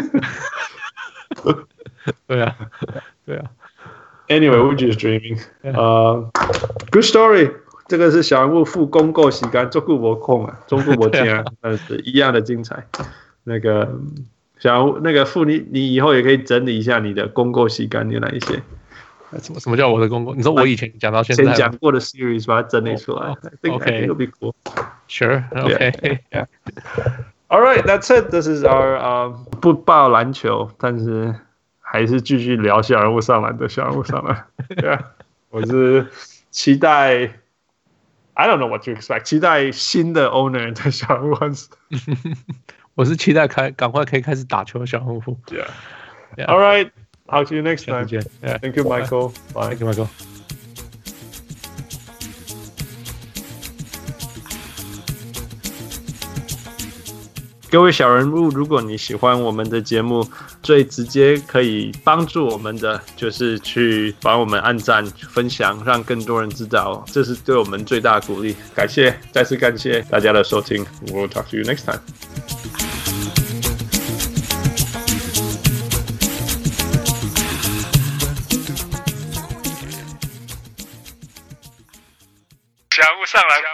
對啊，對啊。 Anyway, we're just dreaming. 呃、uh, ，Good story。這個是小人物付公購時間，中顧我空啊，中顧我聽，但是一樣的精彩。那個小人物，那個付你，你以後也可以整理一下你的公購時間有哪一些。 什麼什麼叫我的公公？你說我以前講到現在， 前講過的 series 把它整理出來。 Oh, I think, okay. I think it'll be cool. Sure. Okay. Yeah. All right, that's it. This is our um 不報籃球，但是還是繼續聊小人物上籃的小人物上籃。Yeah. 我是期待 ，I don't know what to expect， 期待新的 owner 的小人物。 我是期待開趕快可以開始打球的小人物。 Yeah. Yeah. All right. Talk to you next time. Yeah. Thank you, Michael. Bye. Thank you, Michael. 各位小人物，如果你喜歡我們的節目，最直接可以幫助我們的就是去幫我們按讚、分享，讓更多人知道，這是對我們最大的鼓勵。感謝，再次感謝大家的收聽。We'll talk to you next time. 小人物上籃。